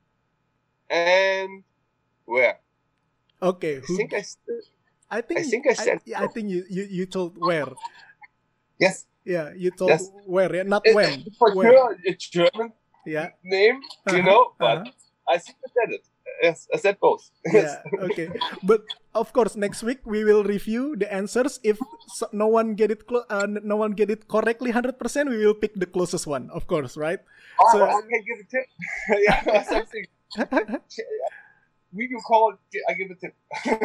And where? Okay. I think I said. I think you told where. Yes. Yeah, you told where, yeah? Not when. For sure, it's German name, but I think I said it. Yes, I said both. Yeah, okay. But of course, next week we will review the answers. If no one get it correctly 100%, we will pick the closest one, of course, right? So I can give a tip. Yeah, something. video call, I give a tip.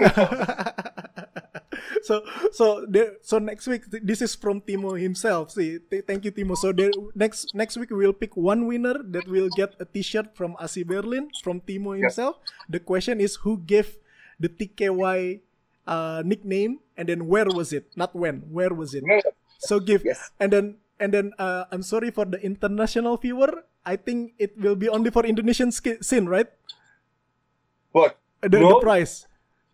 So next week, this is from Timo himself. See, thank you, Timo. So next week we will pick one winner that will get a T-shirt from AC Berlin from Timo himself. Yes. The question is who gave the TKY nickname, and then where was it? Not when. Where was it? Yeah. So give. Yes. And then I'm sorry for the international viewer. I think it will be only for Indonesian scene, right? What? The prize.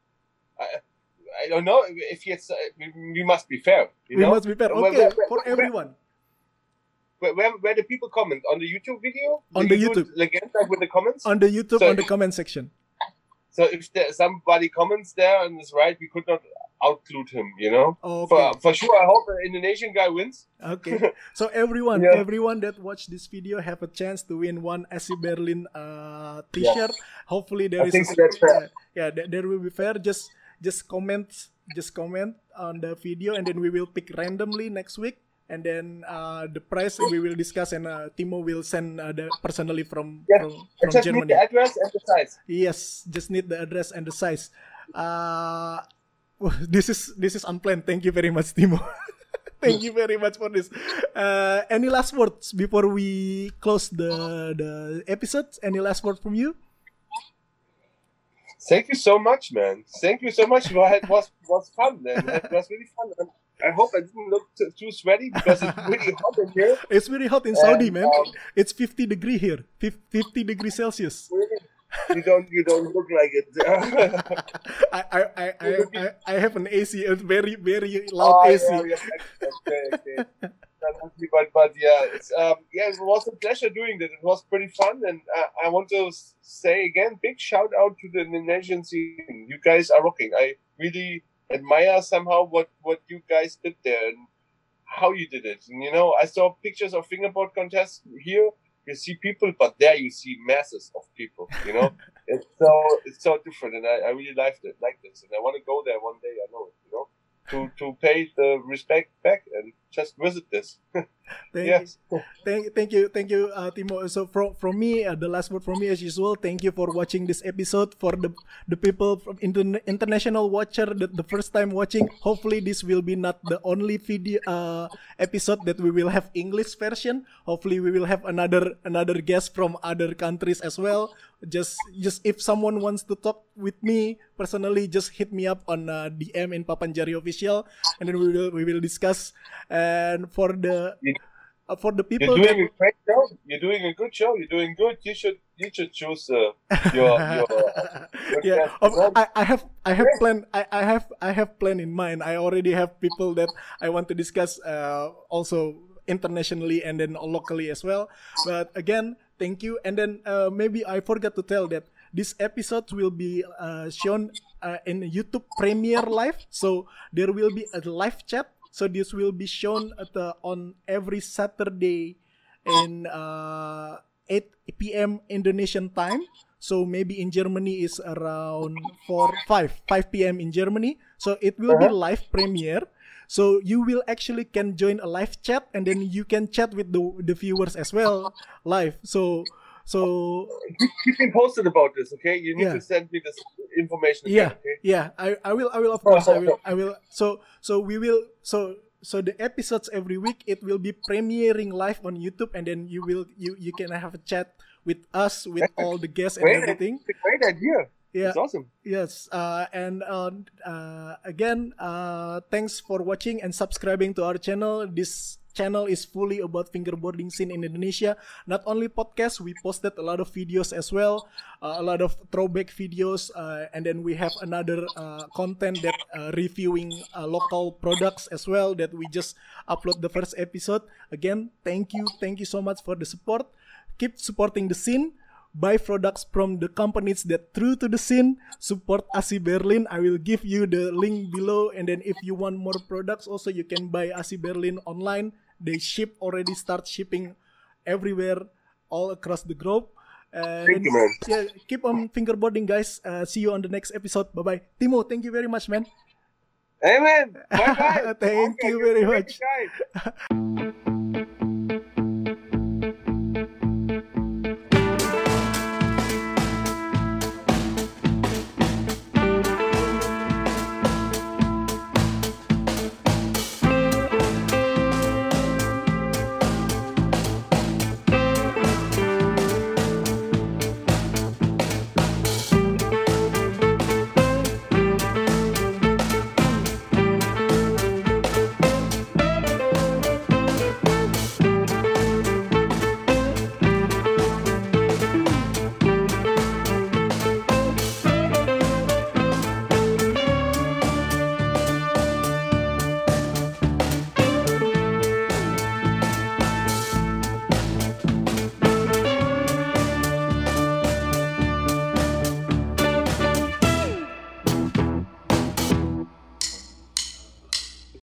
I don't know if it's. We must be fair. We must be fair. Okay, for everyone. Where the people comment on the YouTube video? On the YouTube. Again, like with the comments. On the YouTube, so on the comment section. So if somebody comments there and is right, we could not outclude him. Okay. For sure, I hope an Indonesian guy wins. Okay. So everyone that watched this video have a chance to win one AC Berlin T-shirt. Yeah. Hopefully there there will be fair. Just comment on the video, and then we will pick randomly next week, and then the price we will discuss, and Timo will send personally from just Germany. Need the address and the size. Yes, just need the address and the size. This is unplanned. Thank you very much, Timo. Thank you very much for this. Any last words before we close the episode? Any last word from you? Thank you so much, man. Thank you so much. It was fun, man. It was really fun. I hope I didn't look too sweaty because it's really hot in here. It's really hot in Saudi, man. It's 50 degrees here. 50 degrees Celsius. You don't look like it. I have an AC, a very very loud AC. Okay. But yeah, it was a pleasure doing that. It was pretty fun, and I want to say again, big shout out to the Indonesian scene. You guys are rocking. I really admire somehow what you guys did there and how you did it. And I saw pictures of fingerboard contests here. You see people, but there you see masses of people. It's so different, and I really like this, and I want to go there one day. I know it. To pay the respect back and just visit this. Thank you, Timo. So from me, the last word from me as usual. Thank you for watching this episode. For the people from international watcher, the first time watching. Hopefully, this will be not the only video episode that we will have English version. Hopefully, we will have another guest from other countries as well. Just if someone wants to talk with me personally, just hit me up on DM in Papanjari Official, and then we will discuss. And for the people, you're doing a great show. You're doing a good show. You're doing good. You should choose your yeah. I have plan. I have plan in mind. I already have people that I want to discuss also internationally and then locally as well. But again, thank you. And then maybe I forgot to tell that this episode will be shown in YouTube Premiere Live. So there will be a live chat. So this will be shown on every Saturday in 8 p.m. Indonesian time. So maybe in Germany is around 5 p.m. in Germany. So it will be live premiere. So you will actually can join a live chat, and then you can chat with the viewers as well live. So keep me posted about this, okay? You need to send me this information again, okay? Yeah, I will of course. I will. So we will. So the episodes every week, it will be premiering live on YouTube, and then you can have a chat with us, with all the guests and everything. It's a great idea. Yeah, it's awesome. Yes, and again, thanks for watching and subscribing to our channel. This channel is fully about fingerboarding scene in Indonesia. Not only podcasts, we posted a lot of videos as well, a lot of throwback videos, and then we have another content that reviewing local products as well that we just upload the first episode. Again, thank you so much for the support. Keep supporting the scene. Buy products from the companies that true to the scene. Support AC Berlin. I will give you the link below. And then if you want more products, also you can buy AC Berlin online. They already start shipping everywhere, all across the globe. Thank you, man. Yeah, keep on fingerboarding, guys. See you on the next episode. Bye bye. Timo, thank you very much, man. Hey, man. Bye bye. Thank you very much.